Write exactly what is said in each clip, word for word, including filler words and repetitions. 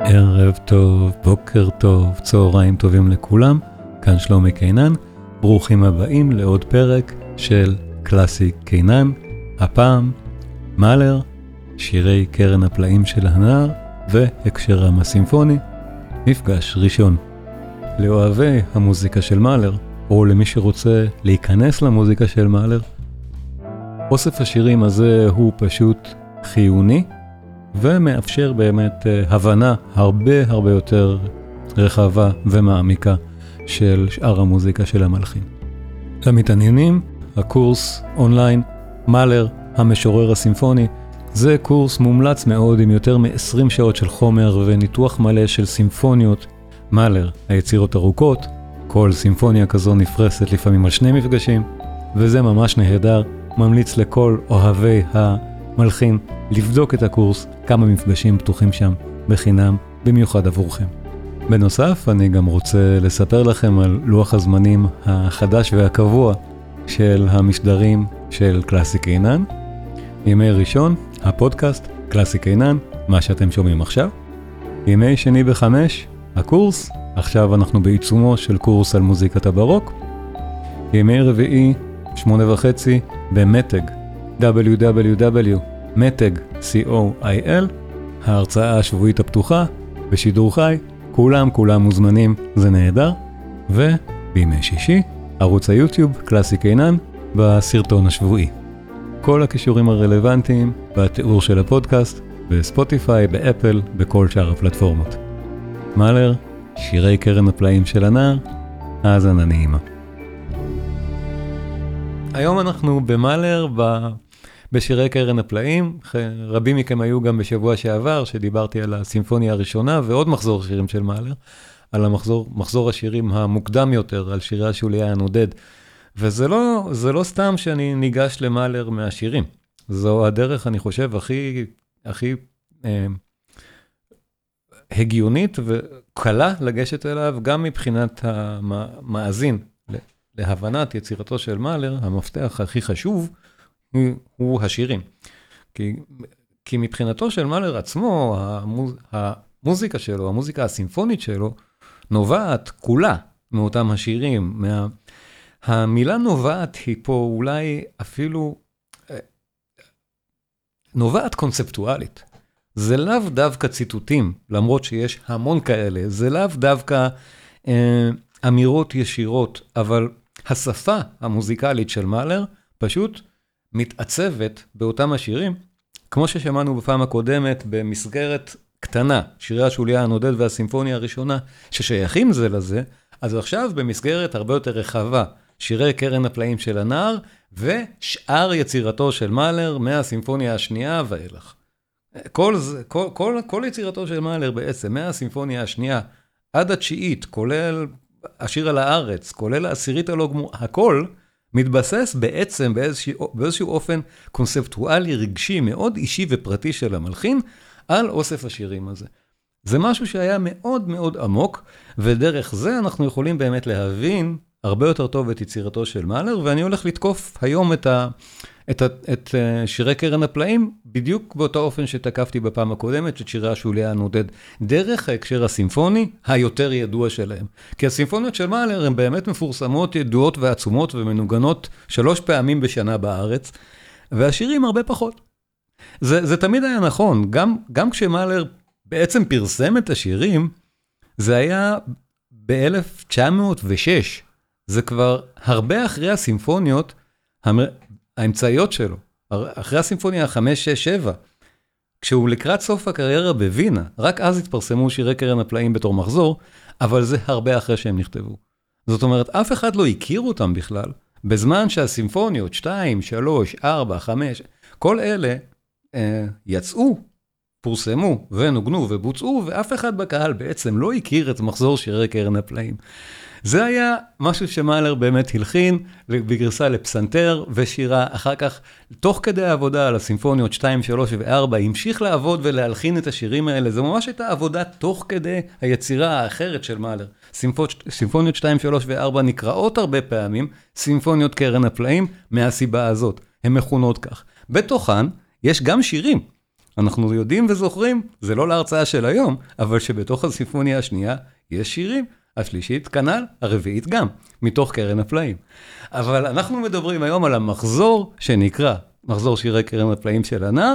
ערב טוב, בוקר טוב, צהריים טובים לכולם, כאן שלומי קינן, ברוכים הבאים לעוד פרק של קלאסי קינן, הפעם מאלר, שירי קרן הפלאים של הנער והקשרם הסימפוני, מפגש ראשון. לאוהבי המוזיקה של מאלר, או למי שרוצה להיכנס למוזיקה של מאלר, אוסף השירים הזה הוא פשוט חיוני, ומאפשר באמת הבנה הרבה הרבה יותר רחבה ומעמיקה של שאר המוזיקה של המלחין. למתעניינים, הקורס אונליין מאלר המשורר הסימפוני, זה קורס מומלץ מאוד עם יותר מ-עשרים שעות של חומר וניתוח מלא של סימפוניות. מאלר, היצירות ארוכות, כל סימפוניה כזו נפרסת לפעמים על שני מפגשים, וזה ממש נהדר, ממליץ לכל אוהבי המלחין לבדוק את הקורס, כמה מפגשים פתוחים שם בחינם, במיוחד עבורכם. בנוסף, אני גם רוצה לספר לכם על לוח הזמנים החדש והקבוע של המשדרים של קלאסי קינן. ימי ראשון, הפודקאסט קלאסי קינן, מה שאתם שומעים עכשיו. ימי שני בחמש, הקורס, עכשיו אנחנו בעיצומו של קורס על מוזיקת הברוק. ימי רביעי, שמונה וחצי, במתג, דאבליו דאבליו דאבליו דוט מתג קו איי אל, ההרצאה השבועית הפתוחה, בשידור חי, כולם כולם מוזמנים, זה נהדר. ובימי שישי, ערוץ היוטיוב, קלאסי קינן, בסרטון השבועי. כל הקישורים הרלוונטיים בתיאור של הפודקאסט, בספוטיפיי, באפל, בכל שאר הפלטפורמות. מאלר, שירי קרן הפלאים של הנער, האזנה נעימה. היום אנחנו במאלר ב... בשירי קרן הפלאים, רבים מכם היו גם בשבוע שעבר, שדיברתי על הסימפוניה הראשונה, ועוד מחזור שירים של מאלר, על המחזור, מחזור השירים המוקדם יותר, על שירי השוליה הנודד. וזה לא, זה לא סתם שאני ניגש למאלר מהשירים. זו הדרך, אני חושב, הכי, הכי אה, הגיונית וקלה לגשת אליו, גם מבחינת המאזין, להבנת יצירתו של מאלר, המפתח הכי חשוב, הוא השירים. כי, כי מבחינתו של מאלר עצמו, המוז, המוזיקה שלו, המוזיקה הסימפונית שלו, נובעת כולה מאותם השירים. מה, המילה נובעת היא פה אולי אפילו נובעת קונספטואלית. זה לאו דווקא ציטוטים, למרות שיש המון כאלה. זה לאו דווקא אה, אמירות ישירות, אבל השפה המוזיקלית של מאלר פשוט מתעצבת באותם השירים, כמו ששמענו בפעם הקודמת במסגרת קטנה, שירי השוליה הנודד והסימפוניה הראשונה, ששייכים זה לזה, אז עכשיו במסגרת הרבה יותר רחבה, שירי קרן הפלאים של הנער, ושאר יצירתו של מאלר מהסימפוניה השנייה ואילך. כל, כל, כל, כל יצירתו של מאלר בעצם, מהסימפוניה השנייה עד התשיעית, כולל השיר על הארץ, כולל העשירית הלא גמור, הכל מתבסס בעצם באיזשהו, באיזשהו אופן קונספטואלי רגשי מאוד אישי ופרטי של המלחין על אוסף השירים הזה. זה משהו שהיה מאוד מאוד עמוק, ודרך זה אנחנו יכולים באמת להבין הרבה יותר טוב את יצירתו של מאלר, ואני הולך לתקוף היום את, ה, את, ה, את שירי קרן הפלאים, בדיוק באותו אופן שתקפתי בפעם הקודמת, את שירי השוליה הנודד, דרך ההקשר הסימפוני היותר ידוע שלהם. כי הסימפוניות של מאלר הן באמת מפורסמות, ידועות ועצומות ומנוגנות שלוש פעמים בשנה בארץ, והשירים הרבה פחות. זה, זה תמיד היה נכון, גם, גם כשמאלר בעצם פרסם את השירים, זה היה ב-אלף תשע מאות ושש, זה כבר הרבה אחרי הסימפוניות האמצעיות שלו, אחרי הסימפוניה חמש, שש, שבע, כשהוא לקראת סוף הקריירה בווינה, רק אז התפרסמו שירי קרן הפלאים בתור מחזור, אבל זה הרבה אחרי שהם נכתבו. זאת אומרת, אף אחד לא הכיר אותם בכלל, בזמן שהסימפוניות שתיים, שלוש, ארבע, חמש, כל אלה אה, יצאו, פורסמו ונוגנו ובוצעו, ואף אחד בקהל בעצם לא הכיר את מחזור שירי קרן הפלאים. זה היה משהו שמאלר באמת הלחין בגרסה לפסנתר ושירה. אחר כך, תוך כדי העבודה על הסימפוניות שתיים, שלוש ו-ארבע, המשיך לעבוד ולהלחין את השירים האלה. זה ממש הייתה עבודה תוך כדי היצירה האחרת של מאלר. סימפוניות שתיים, שלוש ו-ארבע נקראות הרבה פעמים סימפוניות קרן הפלאים מהסיבה הזאת. הן מכונות כך. בתוכן יש גם שירים. אנחנו יודעים וזוכרים, זה לא להרצאה של היום, אבל שבתוך הסימפוניה השנייה יש שירים, השלישית כנ"ל, הרביעית גם, מתוך קרן הפלאים. אבל אנחנו מדברים היום על המחזור שנקרא, מחזור שירי קרן הפלאים של הנער,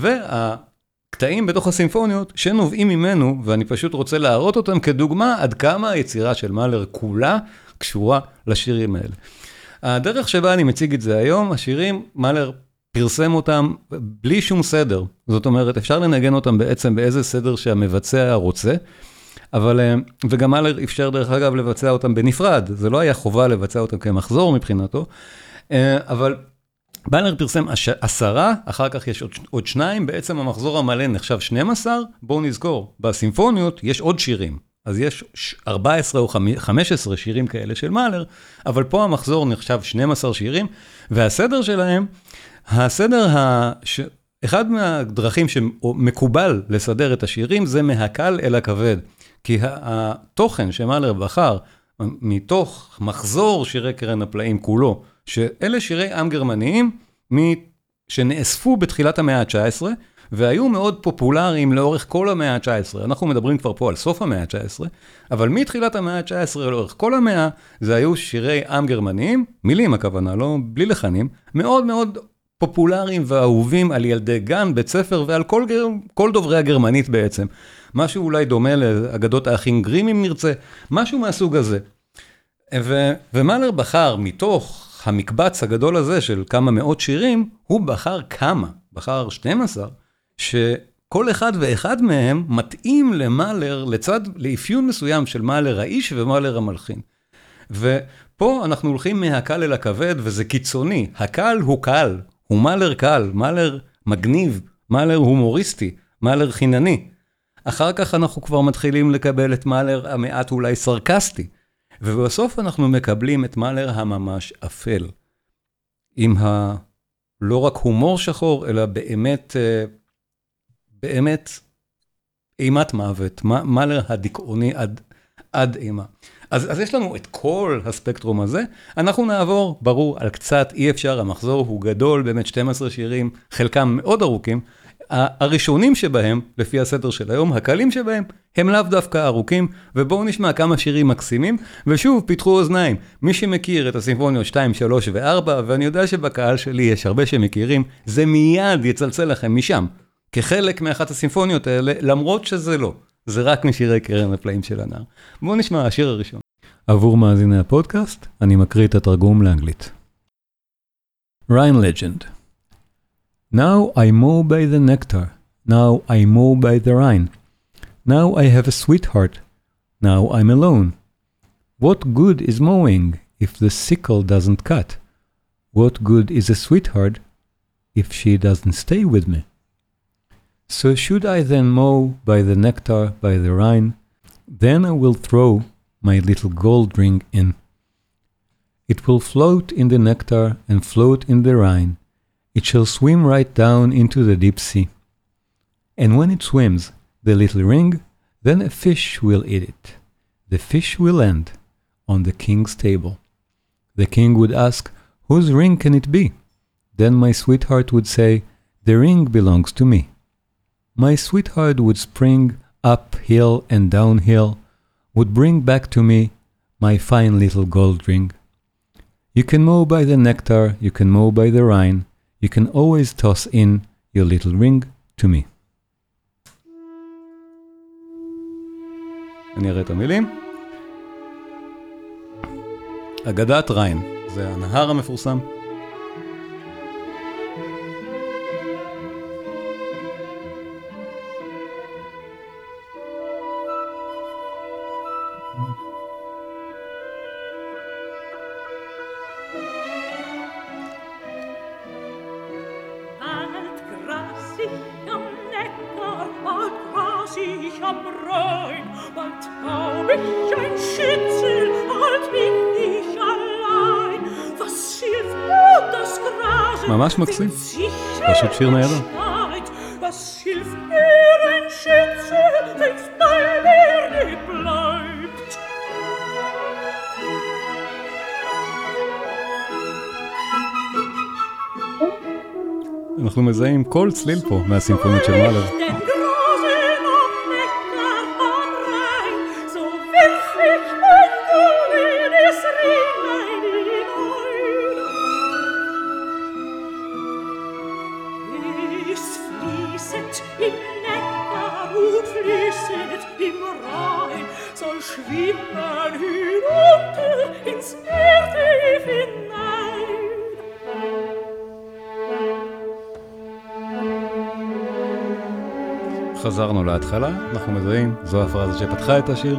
והקטעים בתוך הסימפוניות שנובעים ממנו, ואני פשוט רוצה להראות אותם כדוגמה עד כמה היצירה של מאלר כולה קשורה לשירים האלה. הדרך שבה אני מציג את זה היום, השירים, מאלר פרסם אותם בלי שום סדר. זאת אומרת, אפשר לנגן אותם בעצם באיזה סדר שהמבצע רוצה, אבל, וגם מאלר אפשר דרך אגב לבצע אותם בנפרד, זה לא היה חובה לבצע אותם כמחזור מבחינתו, אבל מאלר פרסם עשרה, אחר כך יש עוד, עוד שניים, בעצם המחזור המלא נחשב שנים עשר, בואו נזכור, בסימפוניות יש עוד שירים, אז יש ארבע עשרה או חמש עשרה שירים כאלה של מאלר, אבל פה המחזור נחשב שנים עשר שירים, והסדר שלהם, הסדר, הש... אחד מהדרכים שמקובל לסדר את השירים, זה מהקל אל הכבד, כי התוכן שמאלר בחר, מתוך מחזור שירי קרן הפלאים כולו, שאלה שירי עם גרמניים, שנאספו בתחילת המאה ה-תשע עשרה, והיו מאוד פופולריים לאורך כל המאה ה-תשע עשרה. אנחנו מדברים כבר פה על סוף המאה ה-תשע עשרה, אבל מתחילת המאה ה-תשע עשרה לאורך כל המאה, זה היו שירי עם גרמניים, מילים הכוונה, לא בלי לחנים, מאוד מאוד פופולריים ואהובים על ילדי גן, בית ספר ועל כל, כל דוברי הגרמנית בעצם. משהו אולי דומה לאגדות האחים גרים אם נרצה, משהו מהסוג הזה. ו- ומאלר בחר מתוך המקבץ הגדול הזה של כמה מאות שירים, הוא בחר כמה, בחר שתים עשרה, שכל אחד ואחד מהם מתאים למאלר, לצד, לאפיון מסוים של מאלר האיש ומאלר המלחין. ופה אנחנו הולכים מהקל אל הכבד, וזה קיצוני. הקל הוא קל, הוא מאלר קל, מאלר מגניב, מאלר הומוריסטי, מאלר חינני. אחר כך אנחנו כבר מתחילים לקבל את מאלר המעט אולי סרקסטי, ובסוף אנחנו מקבלים את מאלר הממש אפל, עם ה... לא רק הומור שחור, אלא באמת, באמת אימת מוות, מאלר הדיכאוני עד, עד אימה. אז, אז יש לנו את כל הספקטרום הזה, אנחנו נעבור, ברור, על קצת, אי אפשר, המחזור הוא גדול, באמת שתים עשרה שירים, חלקם מאוד ארוכים, הראשונים שבהם, לפי הסדר של היום, הקלים שבהם, הם לאו דווקא ארוכים, ובואו נשמע כמה שירים מקסימים, ושוב, פיתחו אוזניים. מי שמכיר את הסימפוניות שתיים, שלוש ו-ארבע, ואני יודע שבקהל שלי יש הרבה שמכירים, זה מיד יצלצל לכם משם, כחלק מאחת הסימפוניות האלה, למרות שזה לא. זה רק משירי קרן הפלאים של הנער. בואו נשמע השיר הראשון. עבור מאזיני הפודקאסט, אני מקריא את התרגום לאנגלית. Rhine Legend. Now I mow by the nectar, now I mow by the Rhine. Now I have a sweetheart, now I'm alone. What good is mowing if the sickle doesn't cut? What good is a sweetheart if she doesn't stay with me? So should I then mow by the nectar, by the Rhine? Then I will throw my little gold ring in. It will float in the nectar and float in the Rhine. It shall swim right down into the deep sea. And when it swims, the little ring, then a fish will eat it. The fish will land on the king's table. The king would ask, whose ring can it be? Then my sweetheart would say, the ring belongs to me. My sweetheart would spring up hill and downhill, would bring back to me my fine little gold ring. You can mow by the nectar, you can mow by the Rhine, you can always toss in your little ring to me. אני אראה את המילים. אגדת ריין, זה הנהר המפורסם. ממש מקסים, פשוט שיר נהדר. אנחנו מזהים כל צליל פה מהסימפונית של מאלר. חזרנו להתחלה, אנחנו מזהים, זו הפרזה שפתחה את השיר.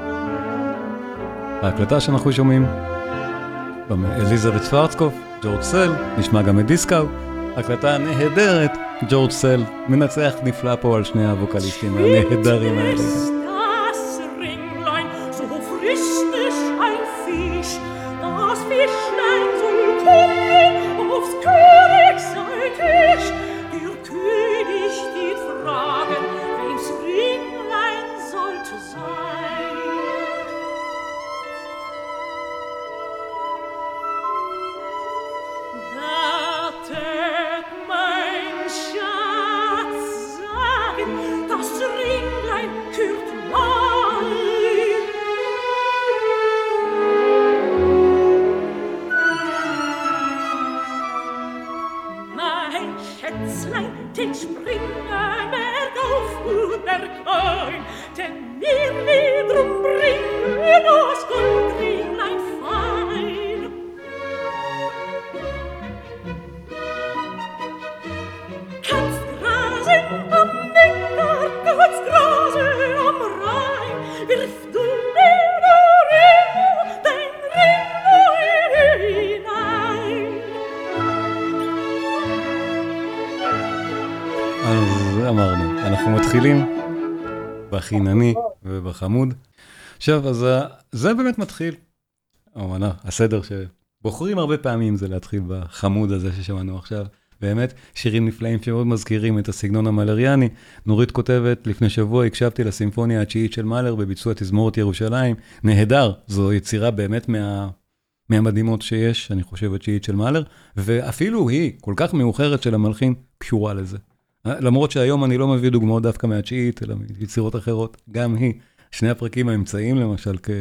ההקלטה שאנחנו שומעים, אליזבת שוורצקופ, ג'ורג' סל, נשמע גם את דיסקאו, הקלטה נהדרת, ג'ורג' סל, מנצח נפלא פה על שני הווקליסטים הנהדרים האלה. בחינני ובחמוד. עכשיו, אז זה באמת מתחיל. אמנה, הסדר שבוחרים הרבה פעמים זה להתחיל בחמוד הזה ששמענו עכשיו. באמת, שירים נפלאים שמאוד מזכירים את הסגנון המלריאני. נורית כותבת, לפני שבוע הקשבתי לסימפוניה התשיעית של מאלר בביצוע תזמורת ירושלים. נהדר, זו יצירה באמת מה, מהמדהימות שיש, אני חושב, התשיעית של מאלר, ואפילו היא, כל כך מאוחרת של המלחין, קשורה לזה. למרות שהיום אני לא מביא דוגמאות דווקא מהתשיעית, אלא מיצירות אחרות, גם היא, שני הפרקים האמצעיים למשל, כ,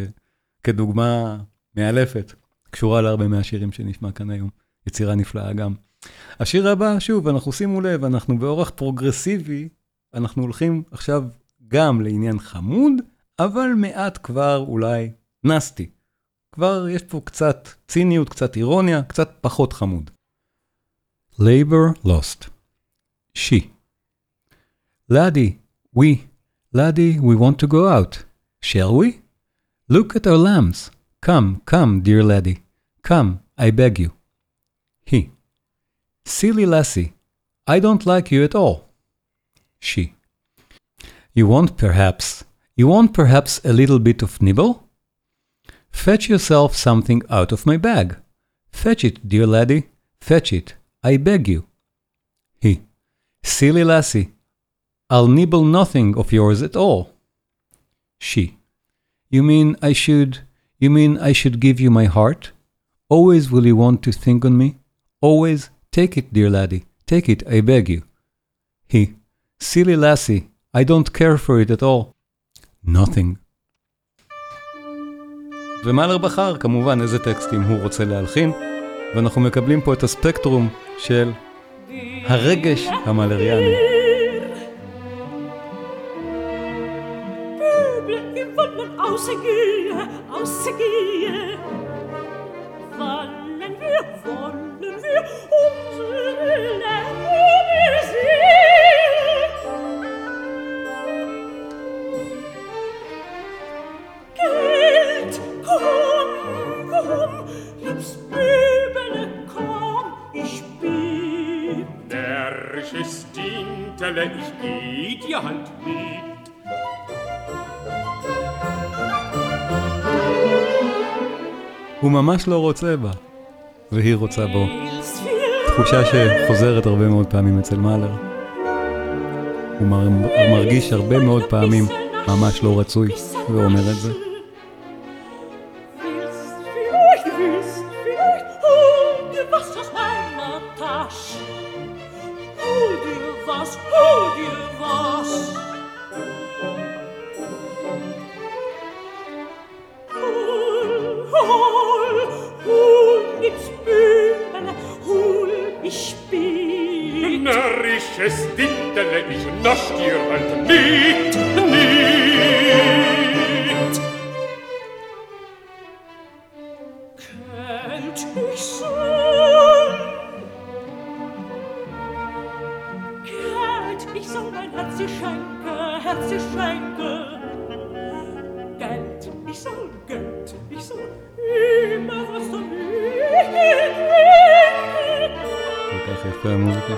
כדוגמה מאלפת, קשורה להרבה מהשירים שנשמע כאן היום, יצירה נפלאה גם. השיר הבא, שוב, אנחנו שימו לב, אנחנו באורח פרוגרסיבי, אנחנו הולכים עכשיו גם לעניין חמוד, אבל מעט כבר אולי נסטי. כבר יש פה קצת ציניות, קצת אירוניה, קצת פחות חמוד. Labor Lost. She. Laddie, we, Laddie, we want to go out. Shall we? Look at our lambs. Come, come, dear laddie. Come, I beg you. He. Silly lassie, I don't like you at all. She. You want perhaps, you want perhaps a little bit of nibble? Fetch yourself something out of my bag. Fetch it, dear laddie, fetch it, I beg you. He. Silly lassie, I'll nibble nothing of yours at all. She. You mean I should, you mean I should give you my heart? Always will you want to think on me? Always, take it, dear laddie, take it, I beg you. He. Silly lassie, I don't care for it at all. Nothing. ומאלר בחר, כמובן, איזה טקסטים הוא רוצה להלחין, ואנחנו מקבלים פה את הספקטרום של הרגש המאלריאני. Ich geh dir halt mit. הוא ממש לא רוצה בה, והיא רוצה בו. תחושה שחוזרת הרבה מאוד פעמים אצל מאלר. הוא מרגיש הרבה מאוד פעמים ממש לא רצוי, ואומר את זה. was, hol dir was. Hol, hol, hol, nichts Bübele, hol, ich spiel. Närrisches Dintele, ich nasch dir halt nicht, nicht. Kennt ich soll, kennt ich soll mein Herz dir schenke, Herz dir schenke. Geld, ich soll Geld, ich soll immer was du כל כך יפה המוזיקה.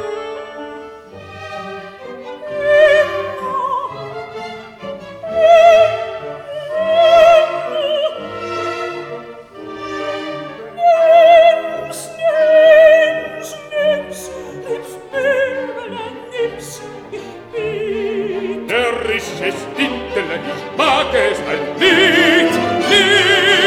Närrisches Dintele, ich mag es halt nicht, nicht.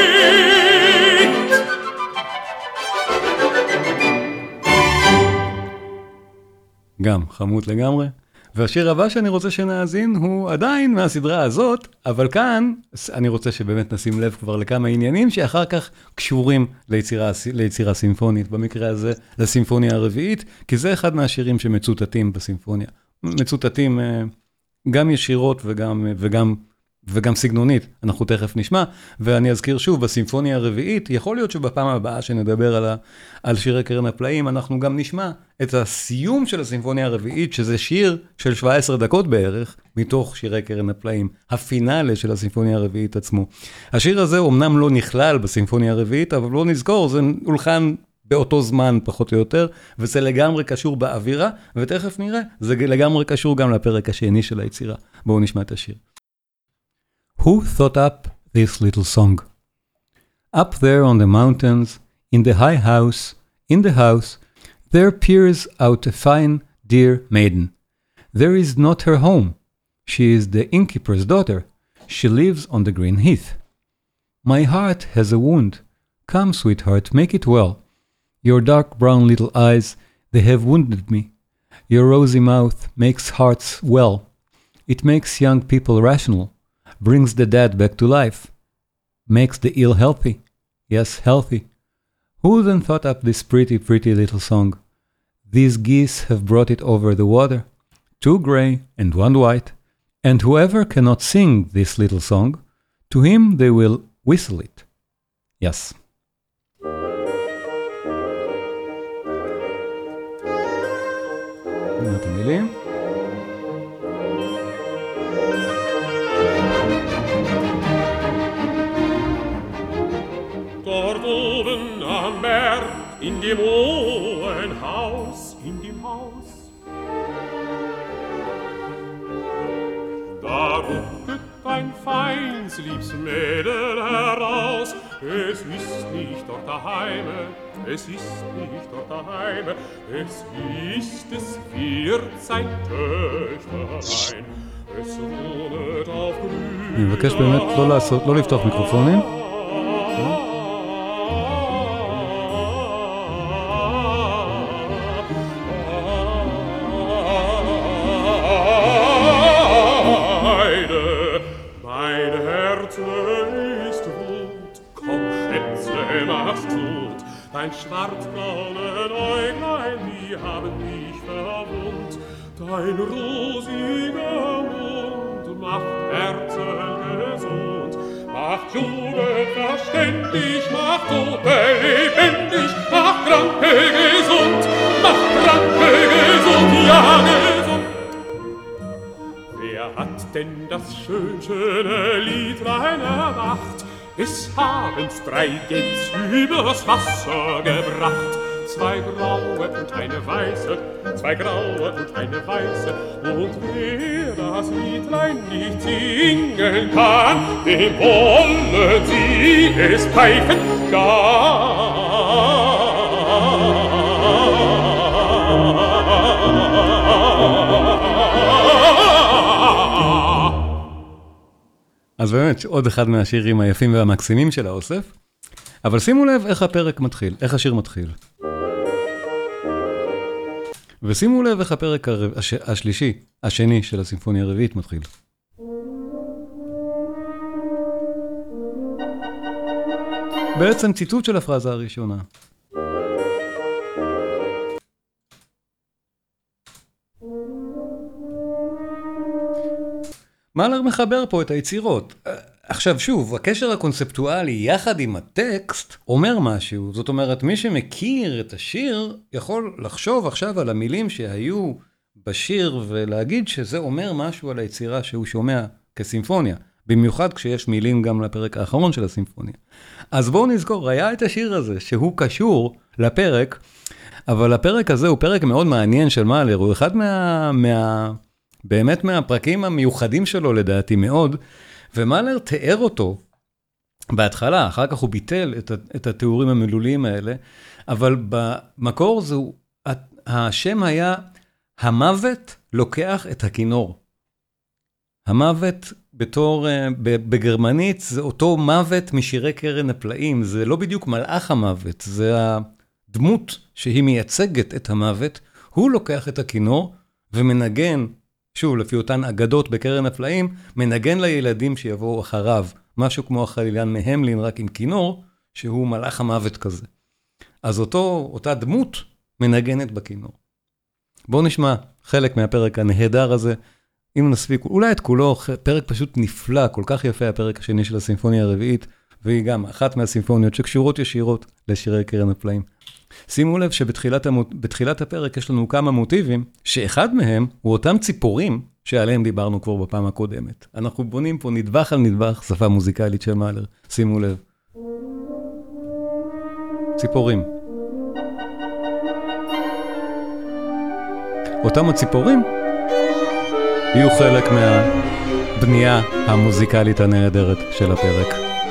גם, חמוד לגמרי. והשיר הבא שאני רוצה שנאזין הוא עדיין מהסדרה הזאת, אבל כאן אני רוצה שבאמת נשים לב כבר לכמה עניינים שאחר כך קשורים ליצירה, ליצירה סימפונית, במקרה הזה לסימפוניה הרביעית, כי זה אחד מהשירים שמצוטטים בסימפוניה. מצוטטים גם ישירות וגם, וגם, וגם סגנונית, אנחנו תכף נשמע, ואני אזכיר שוב, בסימפוניה הרביעית, יכול להיות שבפעם הבאה שנדבר על, ה, על שירי קרן הפלאים, אנחנו גם נשמע את הסיום של הסימפוניה הרביעית, שזה שיר של שבע עשרה דקות בערך, מתוך שירי קרן הפלאים, הפינאלה של הסימפוניה הרביעית עצמו. השיר הזה אומנם לא נכלל בסימפוניה הרביעית, אבל לא נזכור, זה הולחן באותו זמן פחות או יותר, וזה לגמרי קשור באווירה, ותכף נראה, זה לגמרי קשור גם לפרק השני של היצירה. בואו נשמע את השיר. Who thought up this little song? Up there on the mountains, in the high house, in the house, there peers out a fine, dear maiden. There is not her home. She is the innkeeper's daughter. She lives on the green heath. My heart has a wound. Come, sweetheart, make it well. Your dark brown little eyes, they have wounded me. Your rosy mouth makes hearts well. It makes young people rational. Brings the dead back to life, makes the ill healthy, yes, healthy. Who then thought up this pretty, pretty little song? These geese have brought it over the water, two gray and one white, and whoever cannot sing this little song, to him they will whistle it. Yes. את המילים. Dort oben am Berg, in dem hohen Haus, in dem Haus. Da gucket ein feins, liebs Mädel heraus. Es ist nicht dort daheime, es ist nicht dort daheime. Es ist, es wird sein Töchterlein. Es wohnet auf grüner. אני מבקש באמת לא לעשות, לא לפתוח מיקרופונים. Dein schwarzbraunen Äuglein, die haben mich verwundt. Dein rosiger Mund macht Herzen gesund, macht Jugend verständig, macht Tote lebendig, macht Kranke gesund, macht Kranke gesund, ja gesund. Wer hat denn das schön, schöne Liedlein erwacht? Es haben's drei Gänse übers Wasser gebracht. Zwei graue und eine weiße, zwei graue und eine weiße. Und wer das Liedlein nicht singen kann, dem wollen sie es pfeifen gar. אז באמת, עוד אחד מהשירים היפים והמקסימים של האוסף. אבל שימו לב איך הפרק מתחיל, איך השיר מתחיל. ושימו לב איך הפרק הר... הש... השלישי, השני של הסימפוניה הרביעית מתחיל. בעצם ציטוט של הפרזה הראשונה. מאלר מחבר פה את היצירות. עכשיו שוב, הקשר הקונספטואלי יחד עם הטקסט אומר משהו. זאת אומרת, מי שמכיר את השיר יכול לחשוב עכשיו על המילים שהיו בשיר ולהגיד שזה אומר משהו על היצירה שהוא שומע כסימפוניה. במיוחד כשיש מילים גם לפרק האחרון של הסימפוניה. אז בואו נזכור, היה את השיר הזה שהוא קשור לפרק, אבל הפרק הזה הוא פרק מאוד מעניין של מאלר, הוא אחד מה, מה, באמת מהפרקים המיוחדים שלו לדעתי מאוד, ומאלר תיאר אותו בהתחלה, אחר כך הוא ביטל את, את התיאורים המילוליים האלה, אבל במקור זהו, השם היה, המוות לוקח את הכינור. המוות בתור, בגרמנית, זה אותו מוות משירי קרן הפלאים, זה לא בדיוק מלאך המוות, זה הדמות שהיא מייצגת את המוות, הוא לוקח את הכינור ומנגן, שוב, לפי אותן אגדות בקרן הפלאים, מנגן לילדים שיבואו אחריו, משהו כמו החלילן מהמלין, רק עם כינור, שהוא מלאך המוות כזה. אז אותו, אותה דמות מנגנת בכינור. בואו נשמע חלק מהפרק הנהדר הזה, אם נספיק, אולי את כולו, פרק פשוט נפלא, כל כך יפה הפרק השני של הסימפוניה הרביעית, והיא גם אחת מהסימפוניות שקשורות ישירות לשירי קרן הפלאים. שימו לב שבתחילת המות... בתחילת הפרק יש לנו כמה מוטיבים, שאחד מהם הוא אותם ציפורים שעליהם דיברנו כבר בפעם הקודמת. אנחנו בונים פה נדבך על נדבך, שפה מוזיקלית של מאלר. שימו לב. ציפורים. אותם הציפורים יהיו חלק מהבנייה המוזיקלית הנהדרת של הפרק.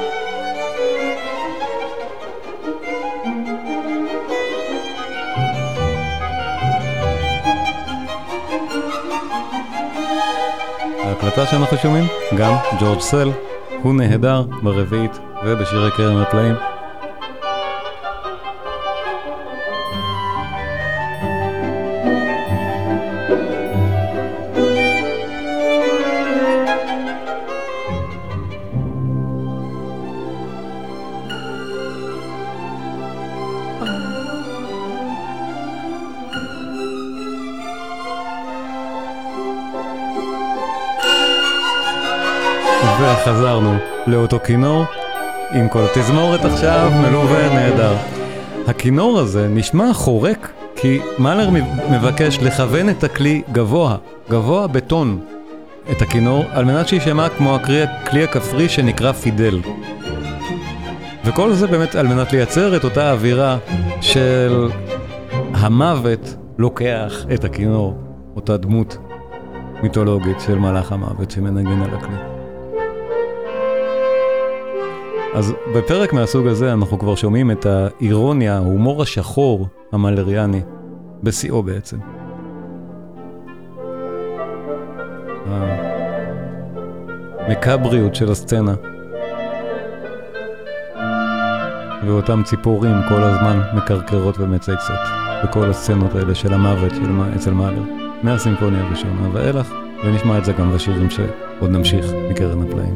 ההקלטה שאנחנו שומעים, גם ג'ורג' סל, הוא נהדר ברביעית ובשירי קרן הפלאים. וחזרנו לאותו כינור עם כל התזמורת עכשיו מלווה נהדר. הכינור הזה נשמע חורק כי מאלר מבקש לכוון את הכלי גבוה, גבוה בטון את הכינור על מנת שישמע כמו הכלי הכפרי שנקרא פידל. וכל זה באמת על מנת לייצר את אותה אווירה של המוות לוקח את הכינור, אותה דמות מיתולוגית של מלאך המוות שמנגן על הכלי. אז בפרק מהסוג הזה אנחנו כבר שומעים את האירוניה, ההומור השחור המאלריאני, בשיאו בעצם. המקבריות של הסצנה. ואותם ציפורים כל הזמן מקרקרות ומצייצות. בכל הסצנות האלה של המוות של, אצל מאלר. מהסימפוניה הראשונה ואילך, ונשמע את זה גם בשירים שעוד נמשיך מקרן הפלאים.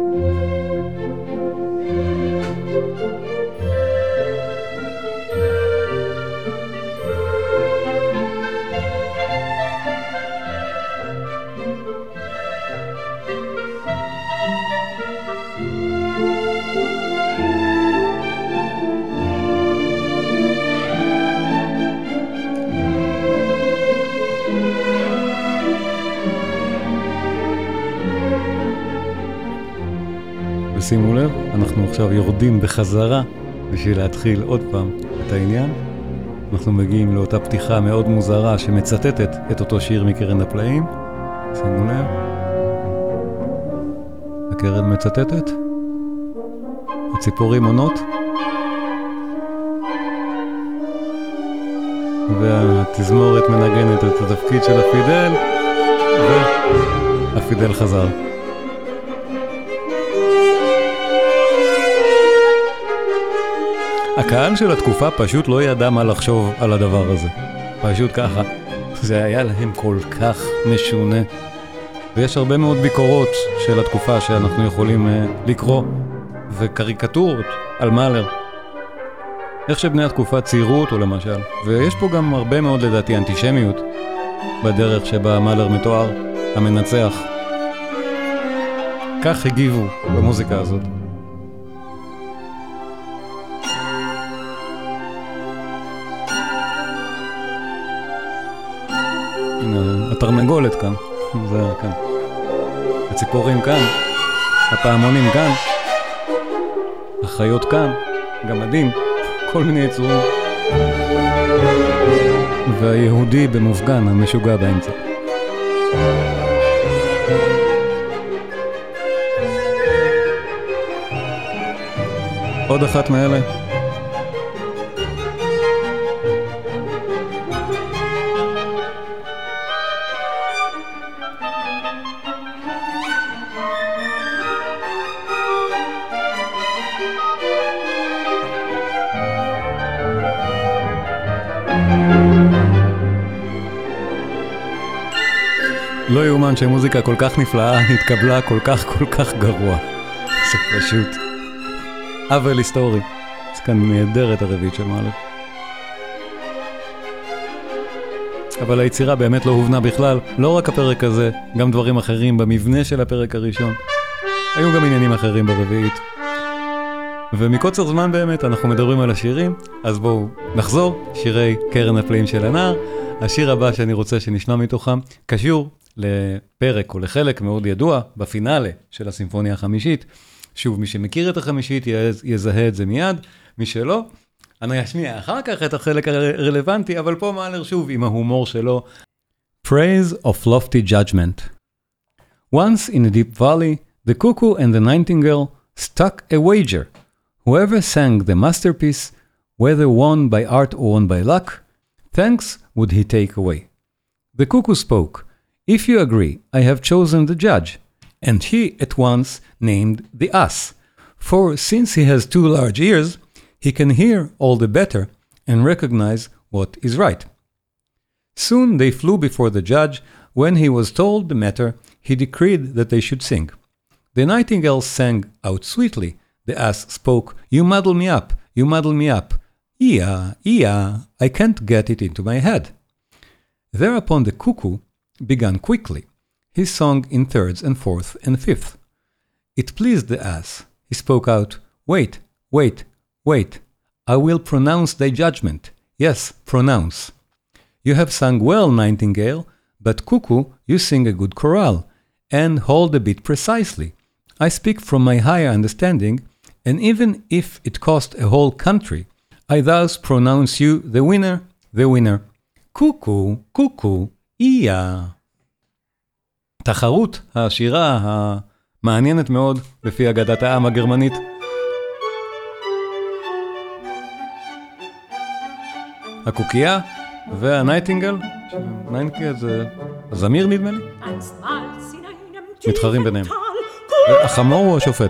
שימו לב, אנחנו עכשיו יורדים בחזרה בשביל להתחיל עוד פעם את העניין. אנחנו מגיעים לאותה פתיחה מאוד מוזרה שמצטטת את אותו שיר מקרן הפלאים. שימו לב. הקרן מצטטת. הציפורים עונות. והתזמורת מנגנת את התפקיד של הפידל. והפידל חזר. הקהל של התקופה פשוט לא ידע מה לחשוב על הדבר הזה. פשוט ככה. זה היה להם כל כך משונה. ויש הרבה מאוד ביקורות של התקופה שאנחנו יכולים uh, לקרוא, וקריקטורות על מאלר. איך שבני התקופה ציירו אותו למשל. ויש פה גם הרבה מאוד לדעתי אנטישמיות בדרך שבה מאלר מתואר, המנצח. כך הגיבו במוזיקה הזאת. הנה, התרנגולת כאן. זה כאן. הציפורים כאן. הפעמונים כאן. החיות כאן. גמדים. כל מיני יצורים. והיהודי במופגן המשוגע באמצע. עוד אחת מאלה. לא יאומן שמוזיקה כל כך נפלאה התקבלה כל כך כל כך גרוע. זה פשוט עוול היסטורי. זה כאן נהדרת הרביעית של מאלר. אבל היצירה באמת לא הובנה בכלל, לא רק הפרק הזה, גם דברים אחרים במבנה של הפרק הראשון. היו גם עניינים אחרים ברביעית. ומקוצר זמן באמת אנחנו מדברים על השירים, אז בואו נחזור, שירי קרן הפלאים של הנער. השיר הבא שאני רוצה שנשמע מתוכם קשור לפרק או לחלק מאוד ידוע בפינאלה של הסימפוניה החמישית. שוב, מי שמכיר את החמישית יזהה את זה מיד, מי שלא, אני אשמיע אחר כך את החלק הרלוונטי, אבל פה מאלר שוב עם ההומור שלו. Praise of lofty judgment. Once in a deep valley, the cuckoo and the nightingale stuck a wager. Whoever sang the masterpiece, whether won by art or won by luck, thanks would he take away. The cuckoo spoke, "If you agree, I have chosen the judge." And he at once named the ass. For since he has two large ears, he can hear all the better and recognize what is right. Soon they flew before the judge. When he was told the matter, he decreed that they should sing. The nightingale sang out sweetly. The ass spoke, "You muddle me up, you muddle me up. Ia, ia, I can't get it into my head." Thereupon the cuckoo began quickly. He sung in thirds and fourth and fifth. It pleased the ass. He spoke out, "Wait, wait, wait. I will pronounce thy judgment. Yes, pronounce. You have sung well, nightingale, but cuckoo, you sing a good chorale, and hold a bit precisely. I speak from my higher understanding, and even if it cost a whole country, I thus pronounce you the winner, the winner. Cuckoo, cuckoo, ia." תחרות השירה המעניינת מאוד לפי אגדת העם הגרמנית. הקוקייה והנייטינגל, נייטינגל זה זמיר נדמה לי, מתחרים ביניהם. החמור הוא השופט.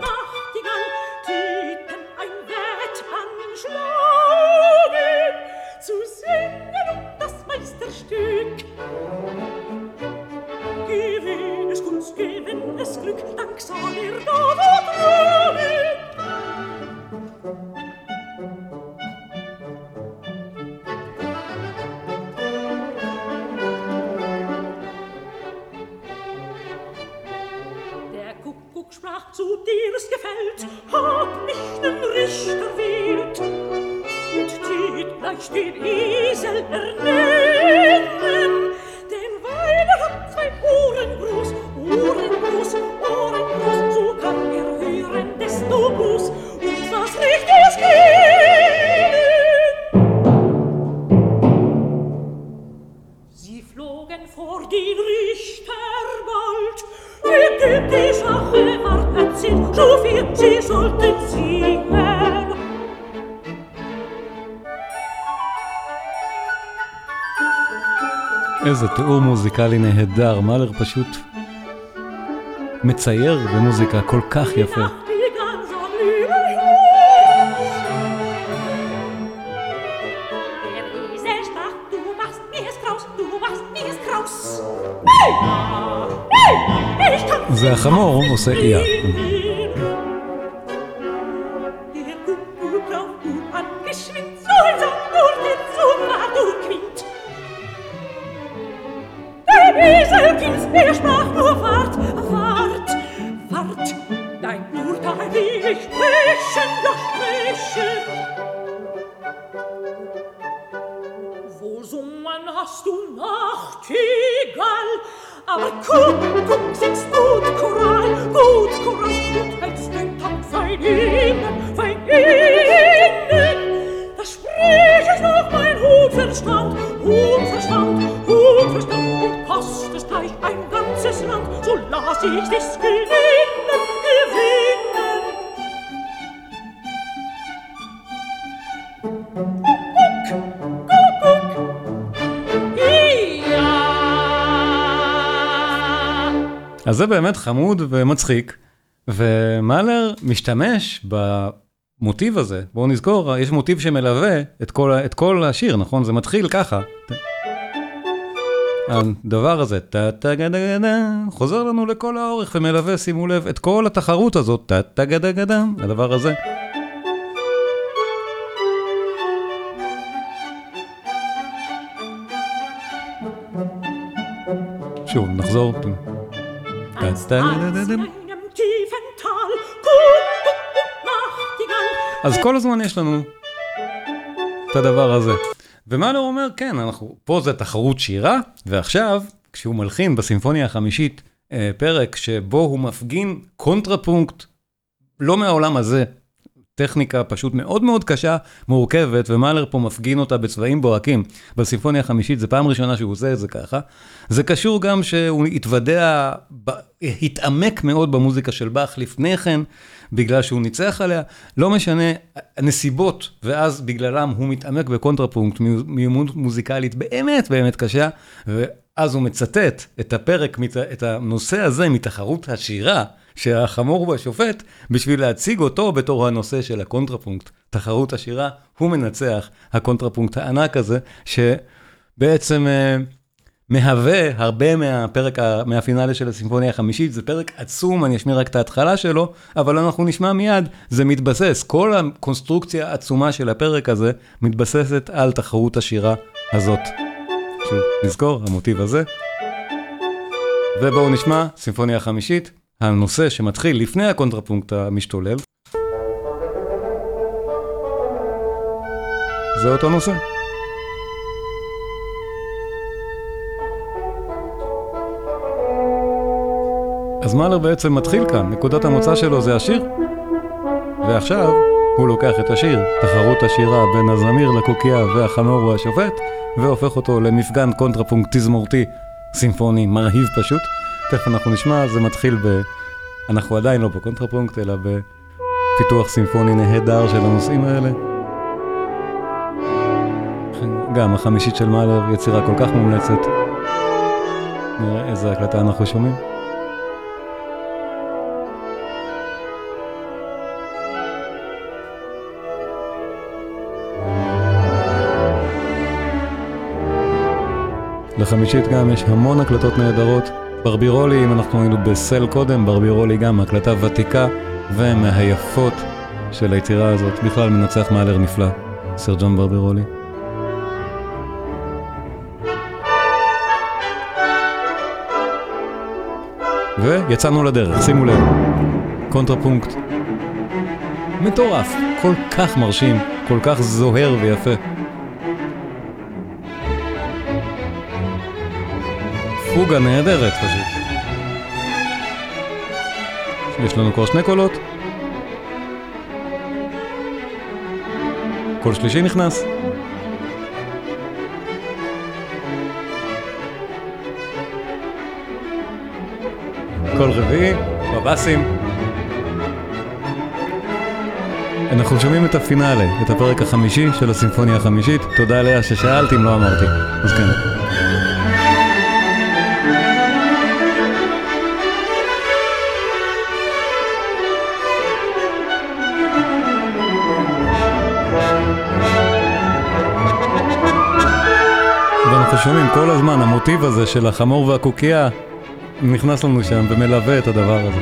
איזה תיאור מוזיקלי נהדר, מאלר פשוט מצייר במוזיקה כל כך יפה. Du machst mir es draus, du machst mir זה החמור עושה איה. Eselkins, er sprach nur wart, wart, wart. Nein, nur da will ich sprechen, ja sprechen. Wohl sungen hast du Nachtigall, aber Kuckuck singst gut Choral, gut Choral, und hältst den Takt fein innen, fein innen. Da sprich ich noch mein Hutverstand, Hutverstand, Hutverstand. Kost es gleich ein ganzes Land, so lass ich dies gewinnen, gewinnen. Kuckuck, Kuckuck, ja. אז זה באמת חמוד ומצחיק, ומאלר משתמש במוטיב הזה. בואו נזכור, יש מוטיב שמלווה את כל, את כל השיר, נכון? זה מתחיל ככה. הדבר הזה, טה-טה-גדה-גדה, חוזר לנו לכל האורך ומלווה, שימו לב, את כל התחרות הזאת, טה-טה-גדה-גדה, הדבר הזה. שוב, נחזור. טה-טה-גדה-גדה. אז כל הזמן יש לנו את הדבר הזה. ומאלר אומר, כן, אנחנו, פה זה תחרות שירה, ועכשיו, כשהוא מלחין בסימפוניה החמישית, אה, פרק שבו הוא מפגין קונטרפונקט, לא מהעולם הזה, טכניקה פשוט מאוד מאוד קשה, מורכבת, ומאלר פה מפגין אותה בצבעים בוהקים. בסימפוניה החמישית, זה פעם ראשונה שהוא עושה את זה ככה. זה קשור גם שהוא התוודע, התעמק מאוד במוזיקה של באך לפני כן, בגלל שהוא ניצח עליה, לא משנה הנסיבות, ואז בגללם הוא מתעמק בקונטרפונקט, מיומנות מוזיקלית באמת באמת קשה, ואז הוא מצטט את הפרק, את הנושא הזה מתחרות השירה, שהחמור והשופט, בשביל להציג אותו בתור הנושא של הקונטרפונקט, תחרות השירה, הוא מנצח הקונטרפונקט הענק הזה, שבעצם מהווה הרבה מהפרק, מהפינאלה של הסימפוניה החמישית, זה פרק עצום, אני אשמיע רק את ההתחלה שלו, אבל אנחנו נשמע מיד, זה מתבסס, כל הקונסטרוקציה העצומה של הפרק הזה, מתבססת על תחרות השירה הזאת. שוב, נזכור, המוטיב הזה. ובואו נשמע, סימפוניה החמישית, הנושא שמתחיל לפני הקונטרפונקט המשתולל. זה אותו נושא. אז מאלר בעצם מתחיל כאן, נקודת המוצא שלו זה השיר, ועכשיו הוא לוקח את השיר, תחרות השירה בין הזמיר לקוקייה והחמור והשופט, והופך אותו למפגן קונטרפונקט תזמורתי סימפוני מרהיב פשוט. תכף אנחנו נשמע, זה מתחיל ב... אנחנו עדיין לא בקונטרפונקט, אלא בפיתוח סימפוני נהדר של הנושאים האלה. גם החמישית של מאלר, יצירה כל כך מומלצת. נראה איזה הקלטה אנחנו שומעים. לחמישית גם יש המון הקלטות נהדרות. ברבירולי, אם אנחנו היינו בסל קודם, ברבירולי גם הקלטה ותיקה ומהיפות של היצירה הזאת. בכלל מנצח מאלר נפלא, סר ג'ון ברבירולי. ויצאנו לדרך, שימו לב. קונטרפונקט מטורף, כל כך מרשים, כל כך זוהר ויפה. פוגה נהדרת פשוט. יש לנו כבר שני קולות. קול שלישי נכנס. קול רביעי, בבאסים. אנחנו שומעים את הפינאלה, את הפרק החמישי של הסימפוניה החמישית. תודה לאה ששאלתי אם לא אמרתי. אז כן. ואנחנו שומעים כל הזמן המוטיב הזה של החמור והקוקייה נכנס לנו שם ומלווה את הדבר הזה.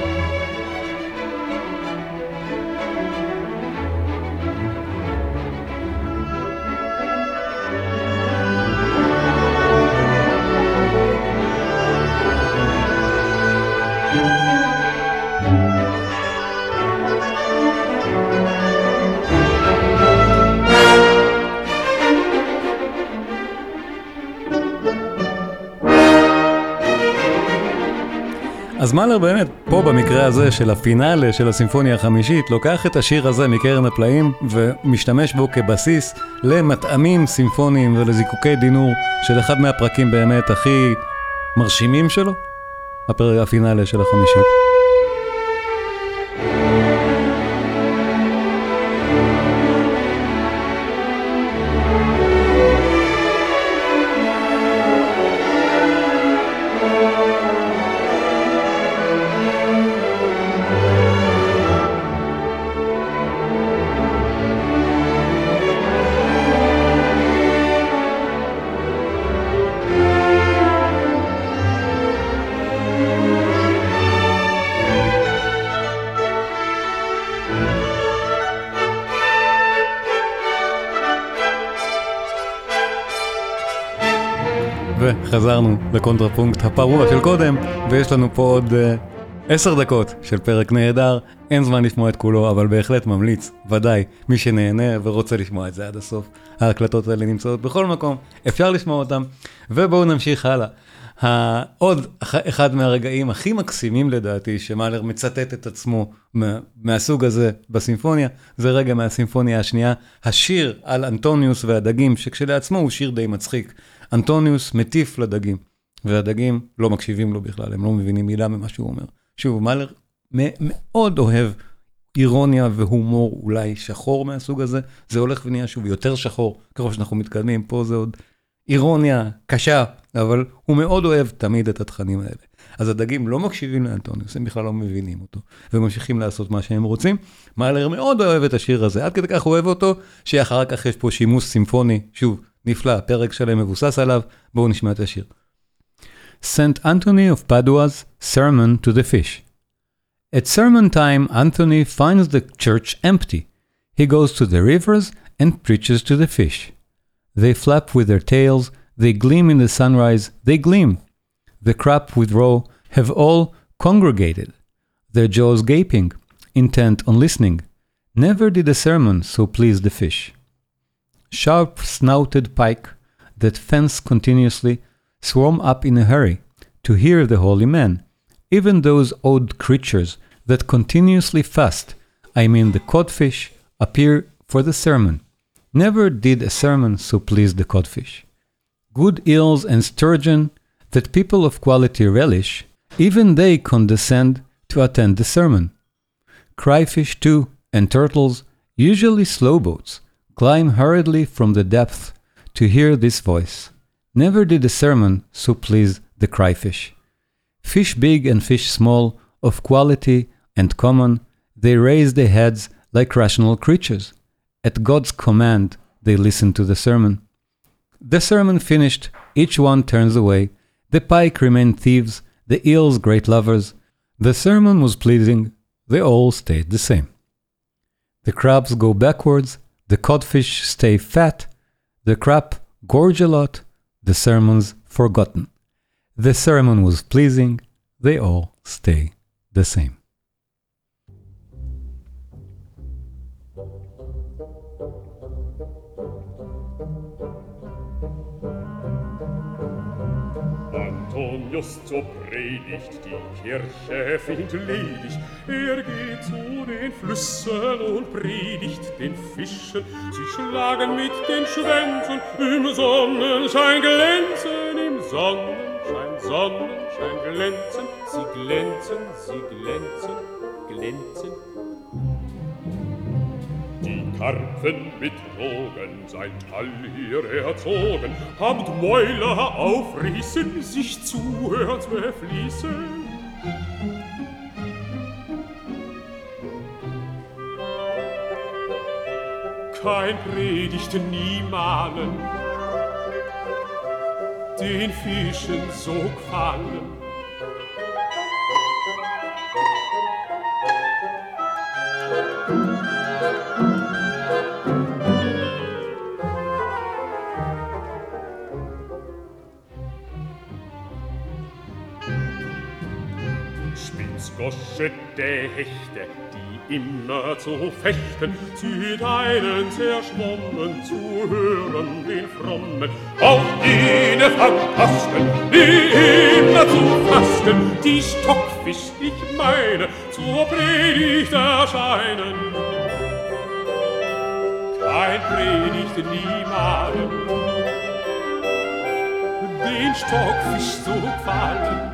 אז מאלר באמת, פה במקרה הזה של הפינאלה של הסימפוניה החמישית, לוקח את השיר הזה מקרן הפלאים ומשתמש בו כבסיס למטעמים סימפוניים ולזיקוקי דינור של אחד מהפרקים באמת הכי מרשימים שלו, הפרק הפינאלה של החמישית. וחזרנו לקונטרפונקט הפרוע של קודם, ויש לנו פה עוד uh, עשר דקות של פרק נהדר. אין זמן לשמוע את כולו, אבל בהחלט ממליץ, ודאי, מי שנהנה ורוצה לשמוע את זה עד הסוף. ההקלטות האלה נמצאות בכל מקום, אפשר לשמוע אותם, ובואו נמשיך הלאה. עוד אחד מהרגעים הכי מקסימים לדעתי, שמאלר מצטט את עצמו מה, מהסוג הזה בסימפוניה, זה רגע מהסימפוניה השנייה, השיר על אנטוניוס והדגים, שכשלעצמו הוא שיר די מצחיק. אנטוניוס מטיף לדגים, והדגים לא מקשיבים לו בכלל, הם לא מבינים מילה ממה שהוא אומר. שוב, מאלר מאוד אוהב אירוניה והומור אולי שחור מהסוג הזה, זה הולך ונהיה שוב יותר שחור, ככל שאנחנו מתקדמים, פה זה עוד אירוניה קשה, אבל הוא מאוד אוהב תמיד את התכנים האלה. אז הדגים לא מקשיבים לאנטוניוס, הם בכלל לא מבינים אותו, וממשיכים לעשות מה שהם רוצים. מאלר מאוד אוהב את השיר הזה, עד כדי כך אוהב אותו, שאחר כך יש פה שימוש סימפוני, שוב, נפלא, פרק שלם מבוסס עליו, בואו נשמע את השיר. Saint Anthony of Padua's Sermon to the Fish. At sermon time, Anthony finds the church empty. He goes to the rivers and preaches to the fish. They flap with their tails, they gleam in the sunrise, they gleam. The crab with roe have all congregated, their jaws gaping, intent on listening. Never did a sermon so please the fish. Sharp-snouted pike that fence continuously swarm up in a hurry to hear the holy man. Even those odd creatures that continuously fast, I mean the codfish, appear for the sermon. Never did a sermon so please the codfish. Good eels and sturgeon that people of quality relish, even they condescend to attend the sermon. Cryfish too, and turtles, usually slow boats, climb hurriedly from the depth to hear this voice. Never did a sermon so please the cryfish. Fish big and fish small, of quality and common, they raise their heads like rational creatures. At God's command, they listen to the sermon. The sermon finished, each one turns away. The pike remain thieves, the eels great lovers. The sermon was pleasing, they all stayed the same. The crabs go backwards, the codfish stay fat, the crab gorge a lot, the sermon's forgotten. The sermon was pleasing, they all stay the same. Antonius zur Predigt, die Kirche findet ledig. Er geht zu den Flüssen und predigt den Fischen. Sie schlagen mit den Schwänzen, im Sonnenschein glänzen, im Sonnenschein, Sonnenschein glänzen. Sie glänzen, sie glänzen, glänzen. Die Karpfen mit Rogen, sein Tall hier erzogen, habt Mäuler aufrissen, sich zuhört befließen. Kein Predigt nie malen, den Fischen so gefallen. ins Goschete Hechte, die immer zu fechten, sie deinen zerschwommen zu hören, den Frommen, auch jene Phantasten, die immer zu fasten, die Stockfisch, ich meine, zur Predigt erscheinen. Kein Predigt niemalen, den Stockfisch so gefallen.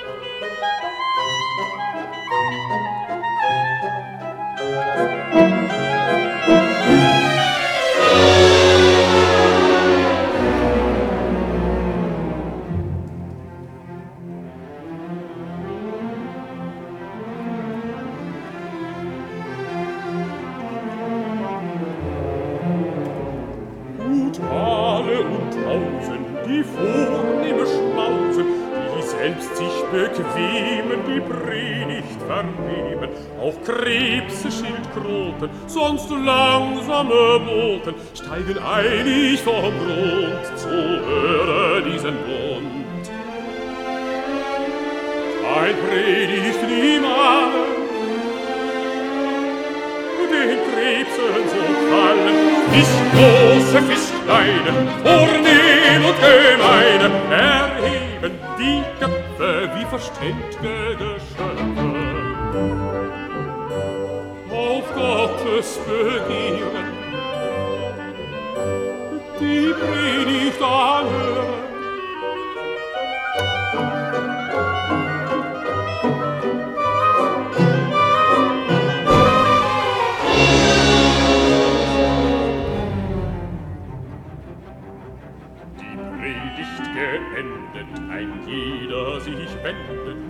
Die vornehme Schmausen, die selbst sich bequemen, die Predigt vernehmen, auch Krebse, Schildkröten, sonst langsame Boten, steigen eilig vom Grund zu hören diesen Bund. Ein Predigt niemals, den Krebsen so fallen, Fisch große, Fisch kleine, vornehm und gemeine, erheben die Köpfe wie verständ'ge Geschöpfe. Auf Gottes Begehren, die Predigt anhören. Geendet, ein jeder sich wendet.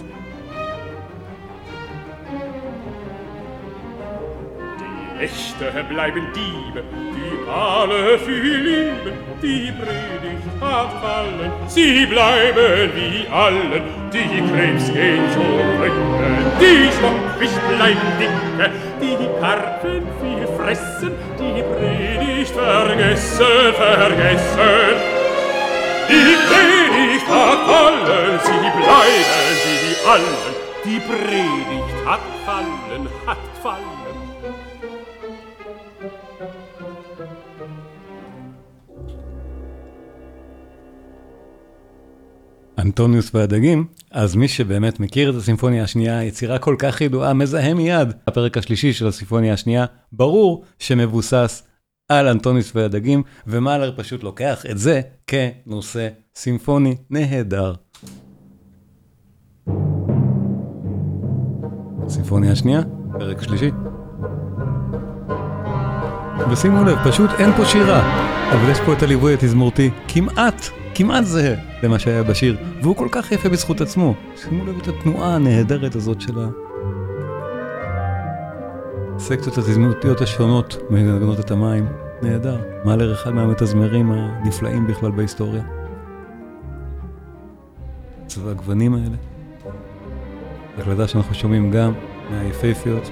Die Echte bleiben Diebe, die alle viel lieben, die Predigt hat fallen, sie bleiben wie allen, die Krebs gehen zurück, die Stockfisch bleiben dicke, die Karpfen viel fressen, die Predigt vergessen, vergessen. Die Predigt hat fallen, sie bleiben wie allen. Die Predigt hat fallen, hat fallen. אנטוניוס והדגים, אז מי שבאמת מכיר את הסימפוניה השנייה, יצירה כל כך ידועה, מזהה מיד. הפרק השלישי של הסימפוניה השנייה, ברור שמבוסס על אנטוניוס והדגים, ומאלר פשוט לוקח את זה כנושא סימפוני נהדר. סימפוניה השנייה, פרק שלישי. ושימו לב, פשוט אין פה שירה, אבל יש פה את הליווי התזמורתי כמעט, כמעט זהה למה שהיה בשיר, והוא כל כך יפה בזכות עצמו. שימו לב את התנועה הנהדרת הזאת של הסקציות התזמורתיות השונות מנגנות את המים. נהדר. מאלר אחד מהמתזמרים הנפלאים בכלל בהיסטוריה. צבע הגוונים האלה. הקלטה שאנחנו שומעים גם מהיפהפיות.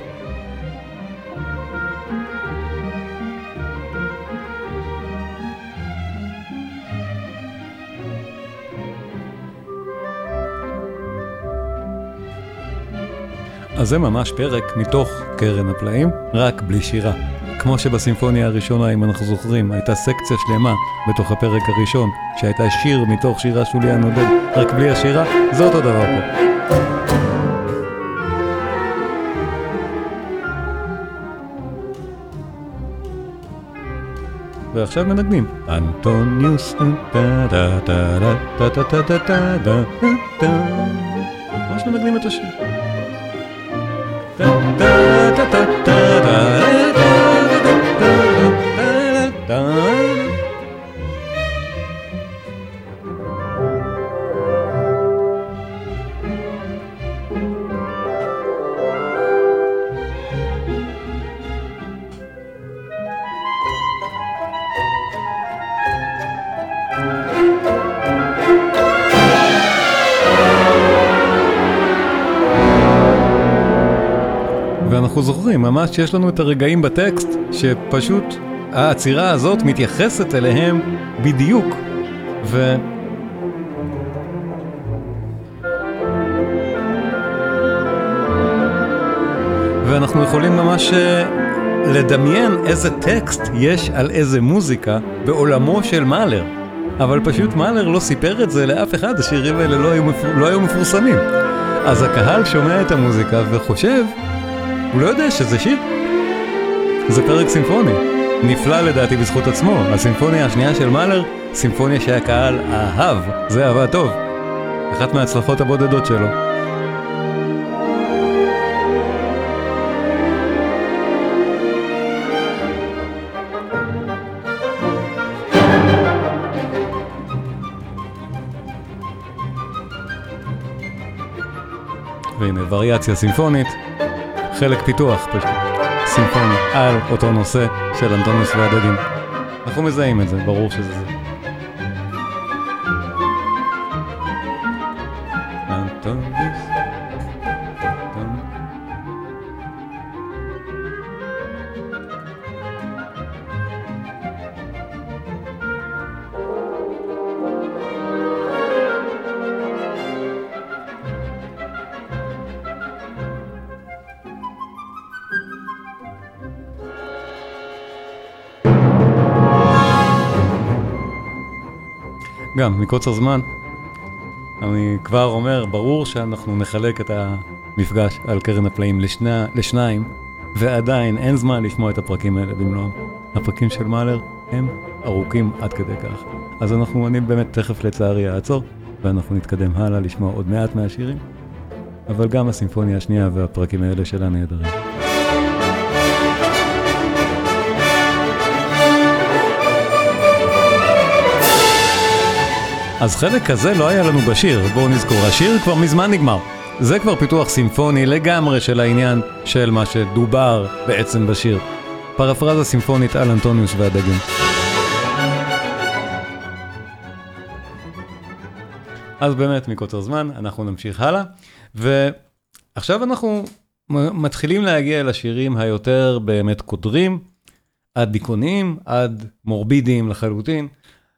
אז זה ממש פרק מתוך קרן הפלאים, רק בלי שירה. כמו שבסימפוניה הראשונה, אם אנחנו זוכרים, הייתה סקציה שלמה בתוך הפרק הראשון, שהייתה שיר מתוך שירה של ליאן עודד, רק בלי השירה, זה אותו דבר פה. ועכשיו מנגנים. אנטוניוס טה טה טה טה טה טה טה טה טה טה. ממש מנגנים את השיר. ואנחנו זוכרים, ממש שיש לנו את הרגעים בטקסט שפשוט העצירה הזאת מתייחסת אליהם בדיוק. ו... ואנחנו יכולים ממש לדמיין איזה טקסט יש על איזה מוזיקה בעולמו של מאלר. אבל פשוט מאלר לא סיפר את זה לאף אחד, השירים האלה לא היו, מפור... לא היו מפורסמים. אז הקהל שומע את המוזיקה וחושב, הוא לא יודע שזה שיר. זה פרק סימפוני. נפלא לדעתי בזכות עצמו. הסימפוניה השנייה של מאלר, סימפוניה שהקהל אהב. זה אהבה טוב. אחת מההצלחות הבודדות שלו. והנה, וריאציה סימפונית, חלק פיתוח פשוט, סימפוני על אותו נושא של אנטוניוס והדגים. אנחנו מזהים את זה, ברור שזה זה. אנטוניוס, אנטוניוס. גם, מקוצר זמן, אני כבר אומר, ברור שאנחנו נחלק את המפגש על קרן הפלאים לשני, לשניים, ועדיין אין זמן לשמוע את הפרקים האלה במלואם. הפרקים של מאלר הם ארוכים עד כדי כך. אז אנחנו, אני באמת תכף לצערי אעצור, ואנחנו נתקדם הלאה לשמוע עוד מעט מהשירים, אבל גם הסימפוניה השנייה והפרקים האלה שלה נהדרים. אז חלק כזה לא היה לנו בשיר, בואו נזכור, השיר כבר מזמן נגמר. זה כבר פיתוח סימפוני לגמרי של העניין של מה שדובר בעצם בשיר. פרפרזה סימפונית על אנטוניוס והדגים. אז באמת מקוצר זמן, אנחנו נמשיך הלאה, ועכשיו אנחנו מתחילים להגיע לשירים היותר באמת קודרים, עד דיכאוניים, עד מורבידיים לחלוטין.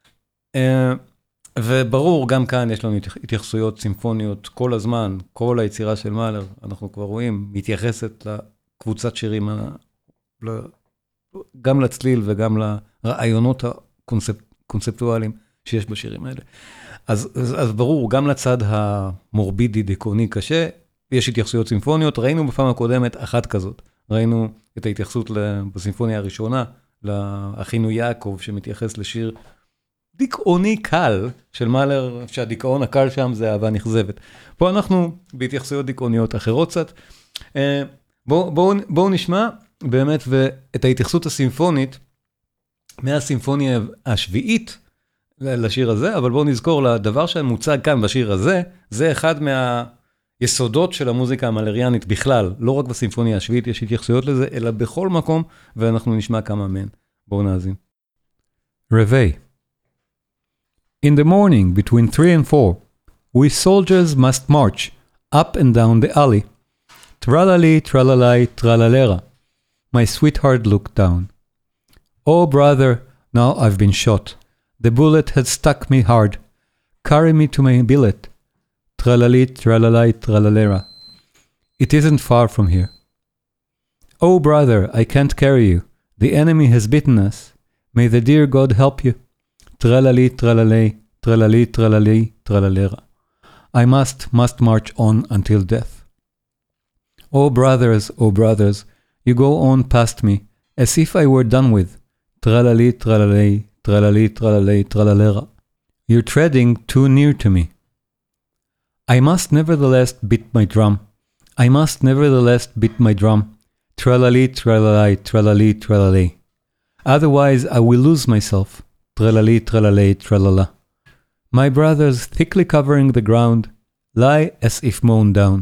וברור, גם כאן יש לנו התייחסויות סימפוניות כל הזמן, כל היצירה של מאלר, אנחנו כבר רואים, מתייחסת לקבוצת שירים, גם לצליל וגם לרעיונות הקונספטואליים שיש בשירים האלה. אז, אז, אז ברור, גם לצד המורבידי, דיכאוני קשה, יש התייחסויות סימפוניות, ראינו בפעם הקודמת אחת כזאת, ראינו את ההתייחסות בסימפוניה הראשונה, לאחינו יעקב שמתייחס לשיר, דיכאוני קל של מאלר, שהדיכאון הקל שם זה אהבה נכזבת. פה אנחנו בהתייחסויות דיכאוניות אחרות קצת. בואו בוא, בוא נשמע באמת את ההתייחסות הסימפונית מהסימפוניה השביעית לשיר הזה, אבל בואו נזכור לדבר שמוצג כאן בשיר הזה, זה אחד מהיסודות של המוזיקה המאלריאנית בכלל, לא רק בסימפוניה השביעית יש התייחסויות לזה, אלא בכל מקום, ואנחנו נשמע כמה מהן. בואו נאזין. רבי. In the morning, between three and four, we soldiers must march up and down the alley. Tralali, tralalai, tralalera. My sweetheart looked down. Oh, brother, now I've been shot. The bullet had stuck me hard. Carry me to my billet. Tralali, tralalai, tralalera. It isn't far from here. Oh, brother, I can't carry you. The enemy has beaten us. May the dear God help you. Tralali, tralalay, tralali, tralali, tralalera. I must, must march on until death. Oh brothers, oh brothers, you go on past me, as if I were done with. Tralali, tralalay, tralali, tralalay, tralalera. You're treading too near to me. I must nevertheless beat my drum. I must nevertheless beat my drum. Tralali, tralalay, tralali, tralalay. Otherwise I will lose myself. Tralali, tralalay, tralala. My brothers, thickly covering the ground, lie as if mown down.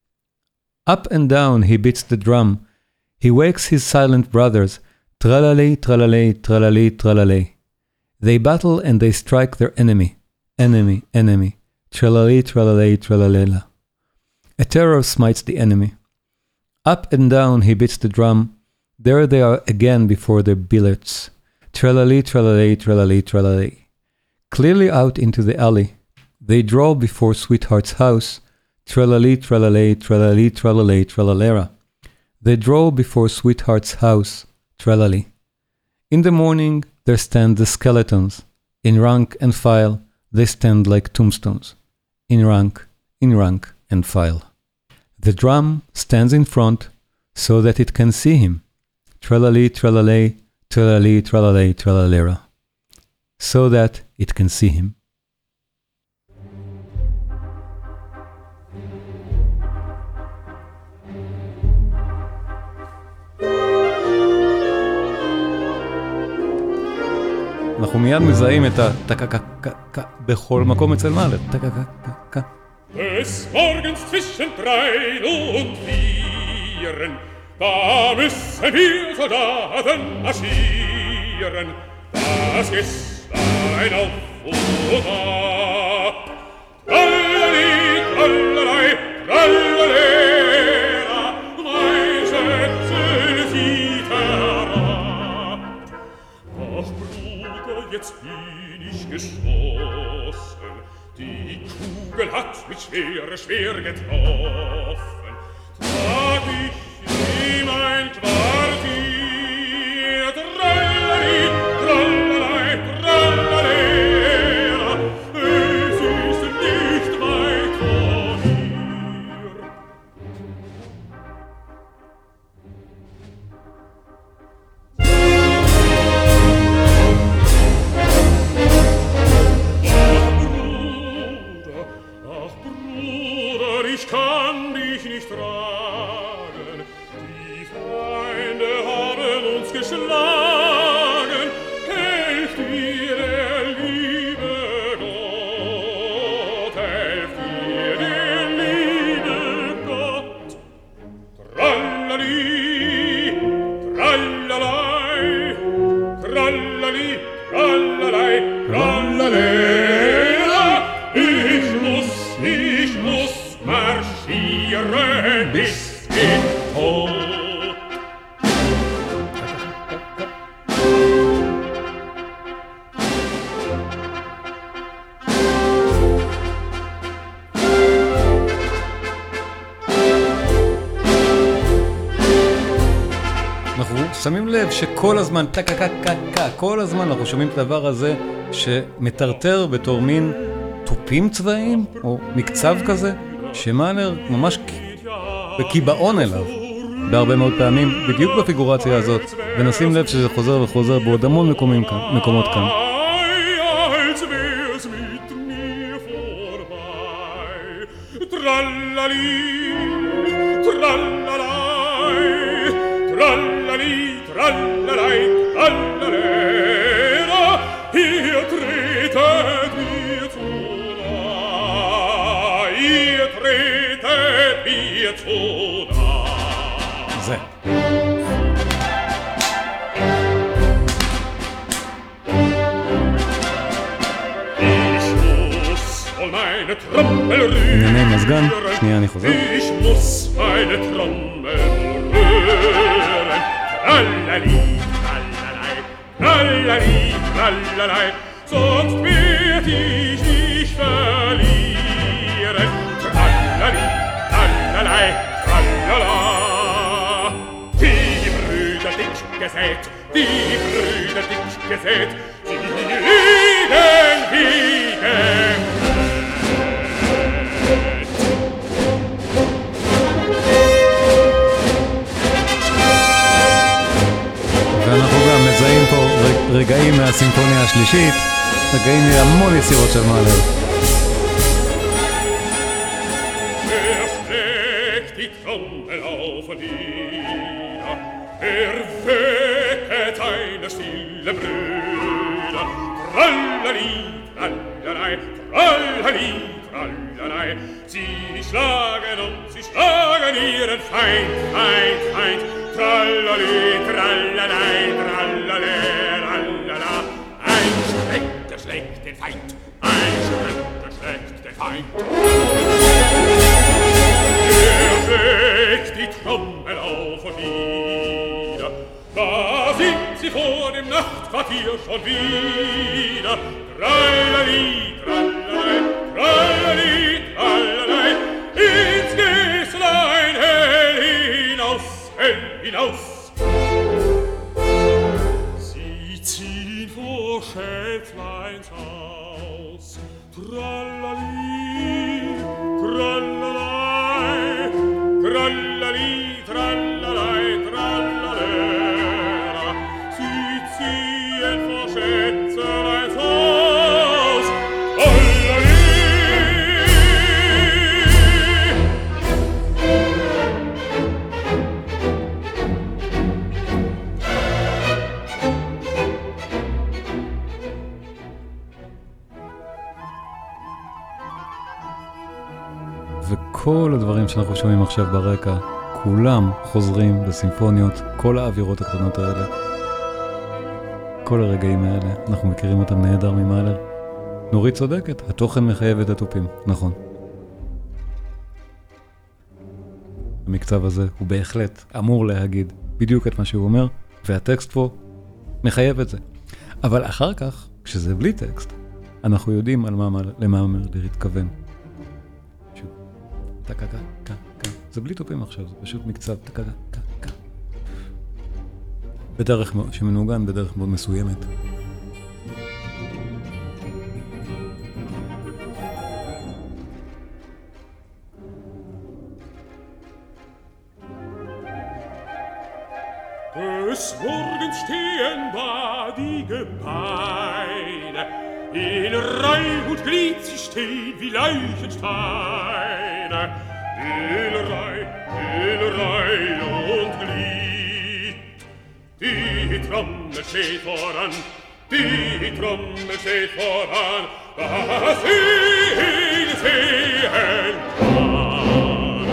Up and down he beats the drum. He wakes his silent brothers. Tralali, tralalay, tralali, tralalay. They battle and they strike their enemy. Enemy, enemy. Tralali, tralalay, tralalela. A terror smites the enemy. Up and down he beats the drum. There they are again before their billets. Tralali, tralalay, tralali, tralalay. Clearly out into the alley, they draw before sweetheart's house. Tralali, tralalay, tralali, tralalay, tralalera. They draw before sweetheart's house, tralali. In the morning, there stand the skeletons. In rank and file, they stand like tombstones. In rank, in rank and file. The drum stands in front so that it can see him. Tralali, tralalay, tralali, tralalay, tralalera. So that it can see him. אנחנו מיד מזהים את הטקקקקק בכל מקום אצל מאלר. טקקקקק. Des Morgens zwischen drei und vieren, da müssen wir Soldaten marschieren. Das Gästlein auf und ab. Trallali, trallalei, trallalera, mein Schätzel sieht herab. Ach, Bruder, jetzt bin ich geschossen, die Kugel hat mich schwer, schwer getroffen. Trag ich in mein Quartier, trallali, trallalei, trallalera, es ist nicht weit von hier. Ich kann dich nicht tragen, die Feinde haben uns geschlagen, helft dir der liebe Gott, helft dir der liebe Gott. Trallali, trallalei, trallali, trallalei, trallalera, ich muss, ich muss marschieren bis in Tod. אנחנו שמים לב שכל הזמן, טקקקקק, כל הזמן אנחנו שומעים את הדבר הזה שמטרטר בתור מין טופים צבאיים, או מקצב כזה, שמאלר ממש בקיבעון אליו, בהרבה מאוד פעמים, בדיוק בפיגורציה הזאת, ונשים לב שזה חוזר וחוזר בעוד המון מקומים כאן, מקומות כאן. Trallali, trallalai, trallali, trallalai, trallalera, ihr tretet mir zu nah, ihr tretet mir zu nah. זה. ענייני מזגן, שנייה אני חוזר. Ich muss meine Trommel rühren. Trallali, trallalei, trallali, trallalei, sonst werd ich dich verlieren. Trallali, trallalei, trallala. Die Brüder dick gesät, die Brüder dick gesät, sie liegen wie gemäht. ואנחנו גם מזהים פה רגעים מהסימפוניה השלישית, רגעים מהמון יצירות של מאלר. Er schlägt die Trommel auf und nieder, er wecket seine stille Brüder. Trallali, trallalei, trallali, trallalei, sie schlagen und sie schlagen ihren Feind, Feind, Feind. Trallali, trallalei, trallale, trallala. Ein Schrecker schlägt den Feind, ein Schrecker schlägt den Feind. Er schlägt die Trommel auf und nieder, da sind sie vor dem Nachtquartier schon wieder. Trallali, trallalei, trallali, trallalei, ins Gäßlein hell hinaus, hell hinaus. Sie ziehen vor Schätzleins Haus. Trallali, trallalei, trallali, trallalei, trallalera. Sie ziehen vor Schätzleins Haus. Trallali. וכל הדברים שאנחנו שומעים עכשיו ברקע, כולם חוזרים בסימפוניות, כל האווירות הקטנות האלה, כל הרגעים האלה, אנחנו מכירים אותם נהדר ממאלר. נורית צודקת, התוכן מחייב את התופים, נכון. המקצב הזה הוא בהחלט אמור להגיד בדיוק את מה שהוא אומר, והטקסט פה מחייב את זה. אבל אחר כך, כשזה בלי טקסט, אנחנו יודעים על מה, למה מאלר התכוון. טקה, טקה, טקה. זה בלי טופים עכשיו, זה פשוט מקצב, טקה, טקה, טקה. בדרך שמנוגן, בדרך מאוד מסוימת. Des Morgens stehen da die Gebeine, in Reih und Glied sie stehen wie Leichensteine. In Reih, in Reih und Glied. Die Trommel steht voran, die Trommel steht voran, dass ihn sehen kann.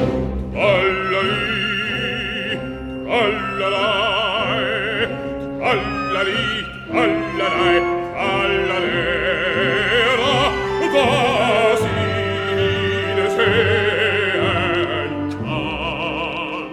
Trallali, trallalei, trallali, trallalei, trallalera, dass ihn sehen kann.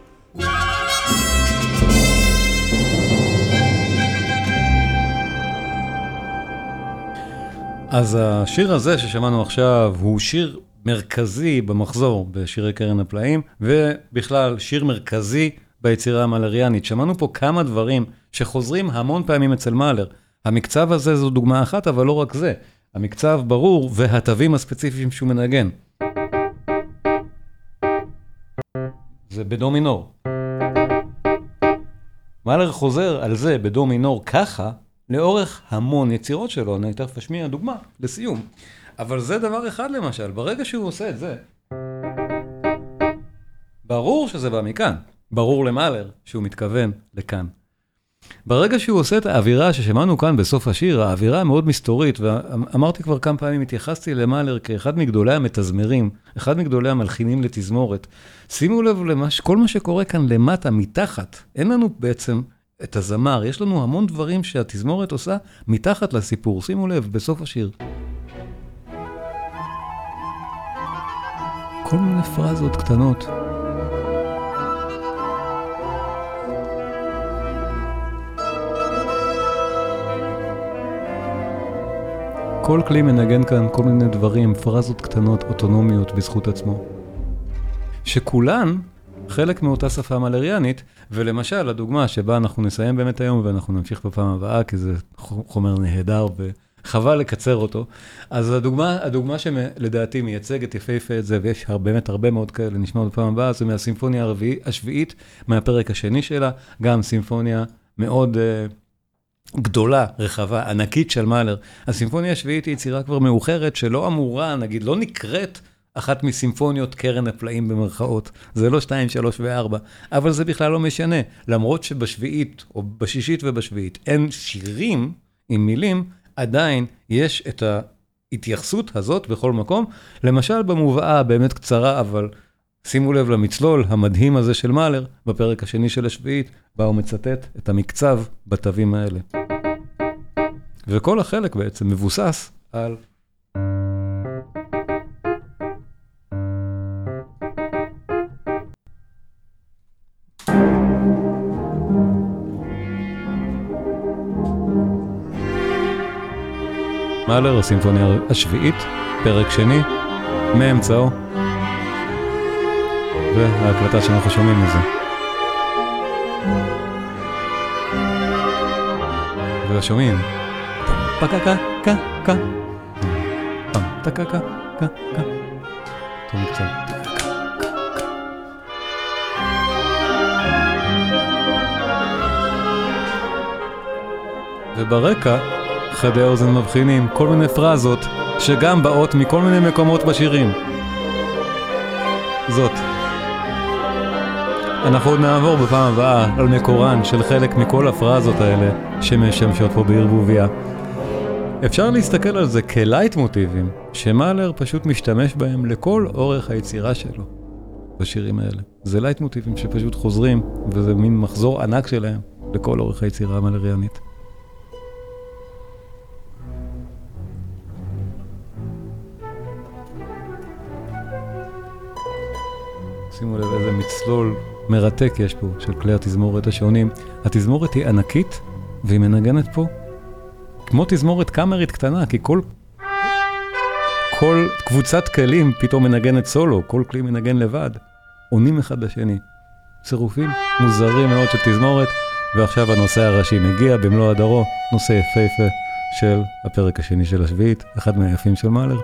אז השיר הזה ששמענו עכשיו הוא שיר מרכזי במחזור בשירי קרן הפלאים, ובכלל שיר מרכזי ביצירה המאלריאנית. שמענו פה כמה דברים שחוזרים המון פעמים אצל מאלר. המקצב הזה זו דוגמה אחת, אבל לא רק זה. המקצב ברור והתווים הספציפיים שהוא מנגן. זה בדו מינור. מאלר חוזר על זה בדו מינור ככה, לאורך המון יצירות שלו. אני תכף אשמיע דוגמה לסיום. אבל זה דבר אחד למשל, ברגע שהוא עושה את זה, ברור שזה בא מכאן. ברור למאלר שהוא מתכוון לכאן. ברגע שהוא עושה את האווירה ששמענו כאן בסוף השיר, האווירה מאוד מסתורית, ואמרתי כבר כמה פעמים, התייחסתי למאלר כאחד מגדולי המתזמרים, אחד מגדולי המלחינים לתזמורת. שימו לב לכל מה שקורה כאן למטה, מתחת. אין לנו בעצם את הזמר, יש לנו המון דברים שהתזמורת עושה מתחת לסיפור. שימו לב, בסוף השיר. כל מיני פרזות קטנות. כל כלי מנגן כאן כל מיני דברים, פרזות קטנות, אוטונומיות בזכות עצמו. שכולן חלק מאותה שפה מאלריאנית, ולמשל, הדוגמה שבה אנחנו נסיים באמת היום, ואנחנו נמשיך בפעם הבאה, כי זה חומר נהדר וחבל לקצר אותו. אז הדוגמה, הדוגמה שלדעתי מייצגת יפהפה את זה, ויש באמת הרבה מאוד כאלה, נשמע בפעם הבאה, זה מהסימפוניה הרביעית, השביעית, מהפרק השני שלה, גם סימפוניה מאוד uh, גדולה, רחבה, ענקית של מאלר. הסימפוניה השביעית היא יצירה כבר מאוחרת, שלא אמורה, נגיד, לא נקראת אחת מסימפוניות קרן הפלאים במרכאות. זה לא שתיים, שלוש וארבע, אבל זה בכלל לא משנה. למרות שבשביעית, או בשישית ובשביעית, אין שירים עם מילים, עדיין יש את ההתייחסות הזאת בכל מקום. למשל במובאה באמת קצרה, אבל שימו לב למצלול המדהים הזה של מאלר, בפרק השני של השביעית, בה הוא מצטט את המקצב בתווים האלה. וכל החלק בעצם מבוסס על מאלר, הסימפוניה השביעית, פרק שני, מאמצעו, וההקלטה שאנחנו שומעים מזה. ושומעים. פקקה, קה, קה. פם, טקקה, קה, קה. טוב קצת. וברקע, חדי האוזן מבחינים כל מיני פרזות שגם באות מכל מיני מקומות בשירים. זאת. אנחנו עוד נעבור בפעם הבאה על מקורן של חלק מכל הפרזות האלה שמשמשות פה בערבוביה. אפשר להסתכל על זה כלייט מוטיבים שמאלר פשוט משתמש בהם לכל אורך היצירה שלו בשירים האלה. זה לייט מוטיבים שפשוט חוזרים וזה מין מחזור ענק שלהם לכל אורך היצירה המאלריאנית. שימו לב איזה מצלול מרתק יש פה של כלי התזמורת השונים. התזמורת היא ענקית והיא מנגנת פה כמו תזמורת קאמרית קטנה, כי כל כל קבוצת כלים פתאום מנגנת סולו, כל כלי מנגן לבד, עונים אחד לשני. צירופים מוזרים מאוד של תזמורת, ועכשיו הנושא הראשי מגיע במלוא הדרו, נושא יפהפה של הפרק השני של השביעית, אחד מהיפים של מאלר.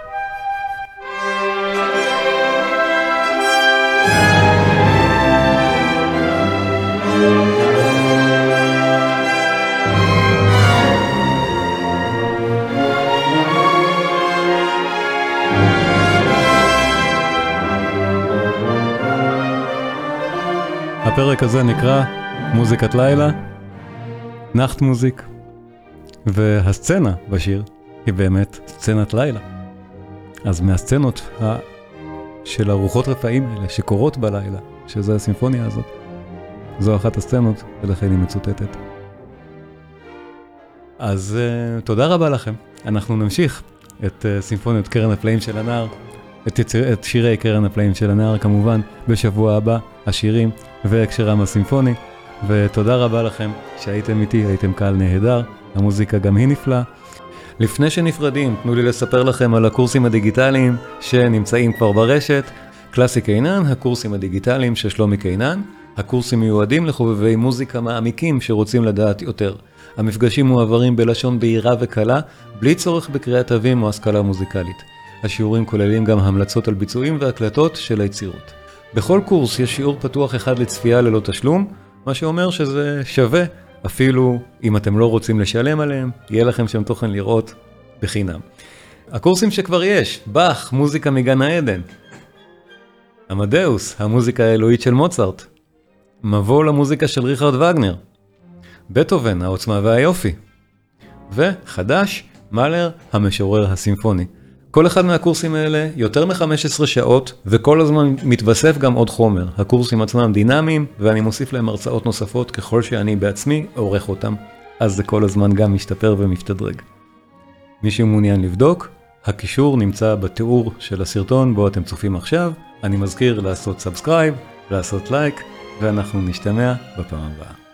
הפרק הזה נקרא מוזיקת לילה, נחט מוזיק, והסצנה בשיר היא באמת סצנת לילה. אז מהסצנות ה... של הרוחות רפאים האלה שקורות בלילה, שזו הסימפוניה הזאת, זו אחת הסצנות ולכן היא מצוטטת. אז uh, תודה רבה לכם. אנחנו נמשיך את uh, סימפוניות קרן הפלאים של הנער, את, יציר... את שירי קרן הפלאים של הנער כמובן בשבוע הבא, השירים והקשרם הסימפוני, ותודה רבה לכם שהייתם איתי, הייתם קהל נהדר, המוזיקה גם היא נפלאה. לפני שנפרדים, תנו לי לספר לכם על הקורסים הדיגיטליים שנמצאים כבר ברשת. קלאסי קינן, הקורסים הדיגיטליים של שלומי קינן, הקורסים מיועדים לחובבי מוזיקה מעמיקים שרוצים לדעת יותר. המפגשים מועברים בלשון בהירה וקלה, בלי צורך בקריאת תווים או השכלה מוזיקלית. השיעורים כוללים גם המלצות על ביצועים והקלטות של היצירות. בכל קורס יש שיעור פתוח אחד לצפייה ללא תשלום, מה שאומר שזה שווה, אפילו אם אתם לא רוצים לשלם עליהם, יהיה לכם שם תוכן לראות בחינם. הקורסים שכבר יש, באך, מוזיקה מגן העדן, עמדאוס, המוזיקה האלוהית של מוצרט, מבוא למוזיקה של ריכרד וגנר, בטהובן, העוצמה והיופי, וחדש, מאלר, המשורר הסימפוני. כל אחד מהקורסים האלה יותר מ-חמש עשרה שעות, וכל הזמן מתווסף גם עוד חומר. הקורסים עצמם דינמיים, ואני מוסיף להם הרצאות נוספות ככל שאני בעצמי עורך אותם. אז זה כל הזמן גם משתפר ומשתדרג. מי שמעוניין לבדוק, הקישור נמצא בתיאור של הסרטון בו אתם צופים עכשיו. אני מזכיר לעשות סאבסקרייב, לעשות לייק, ואנחנו נשתמע בפעם הבאה.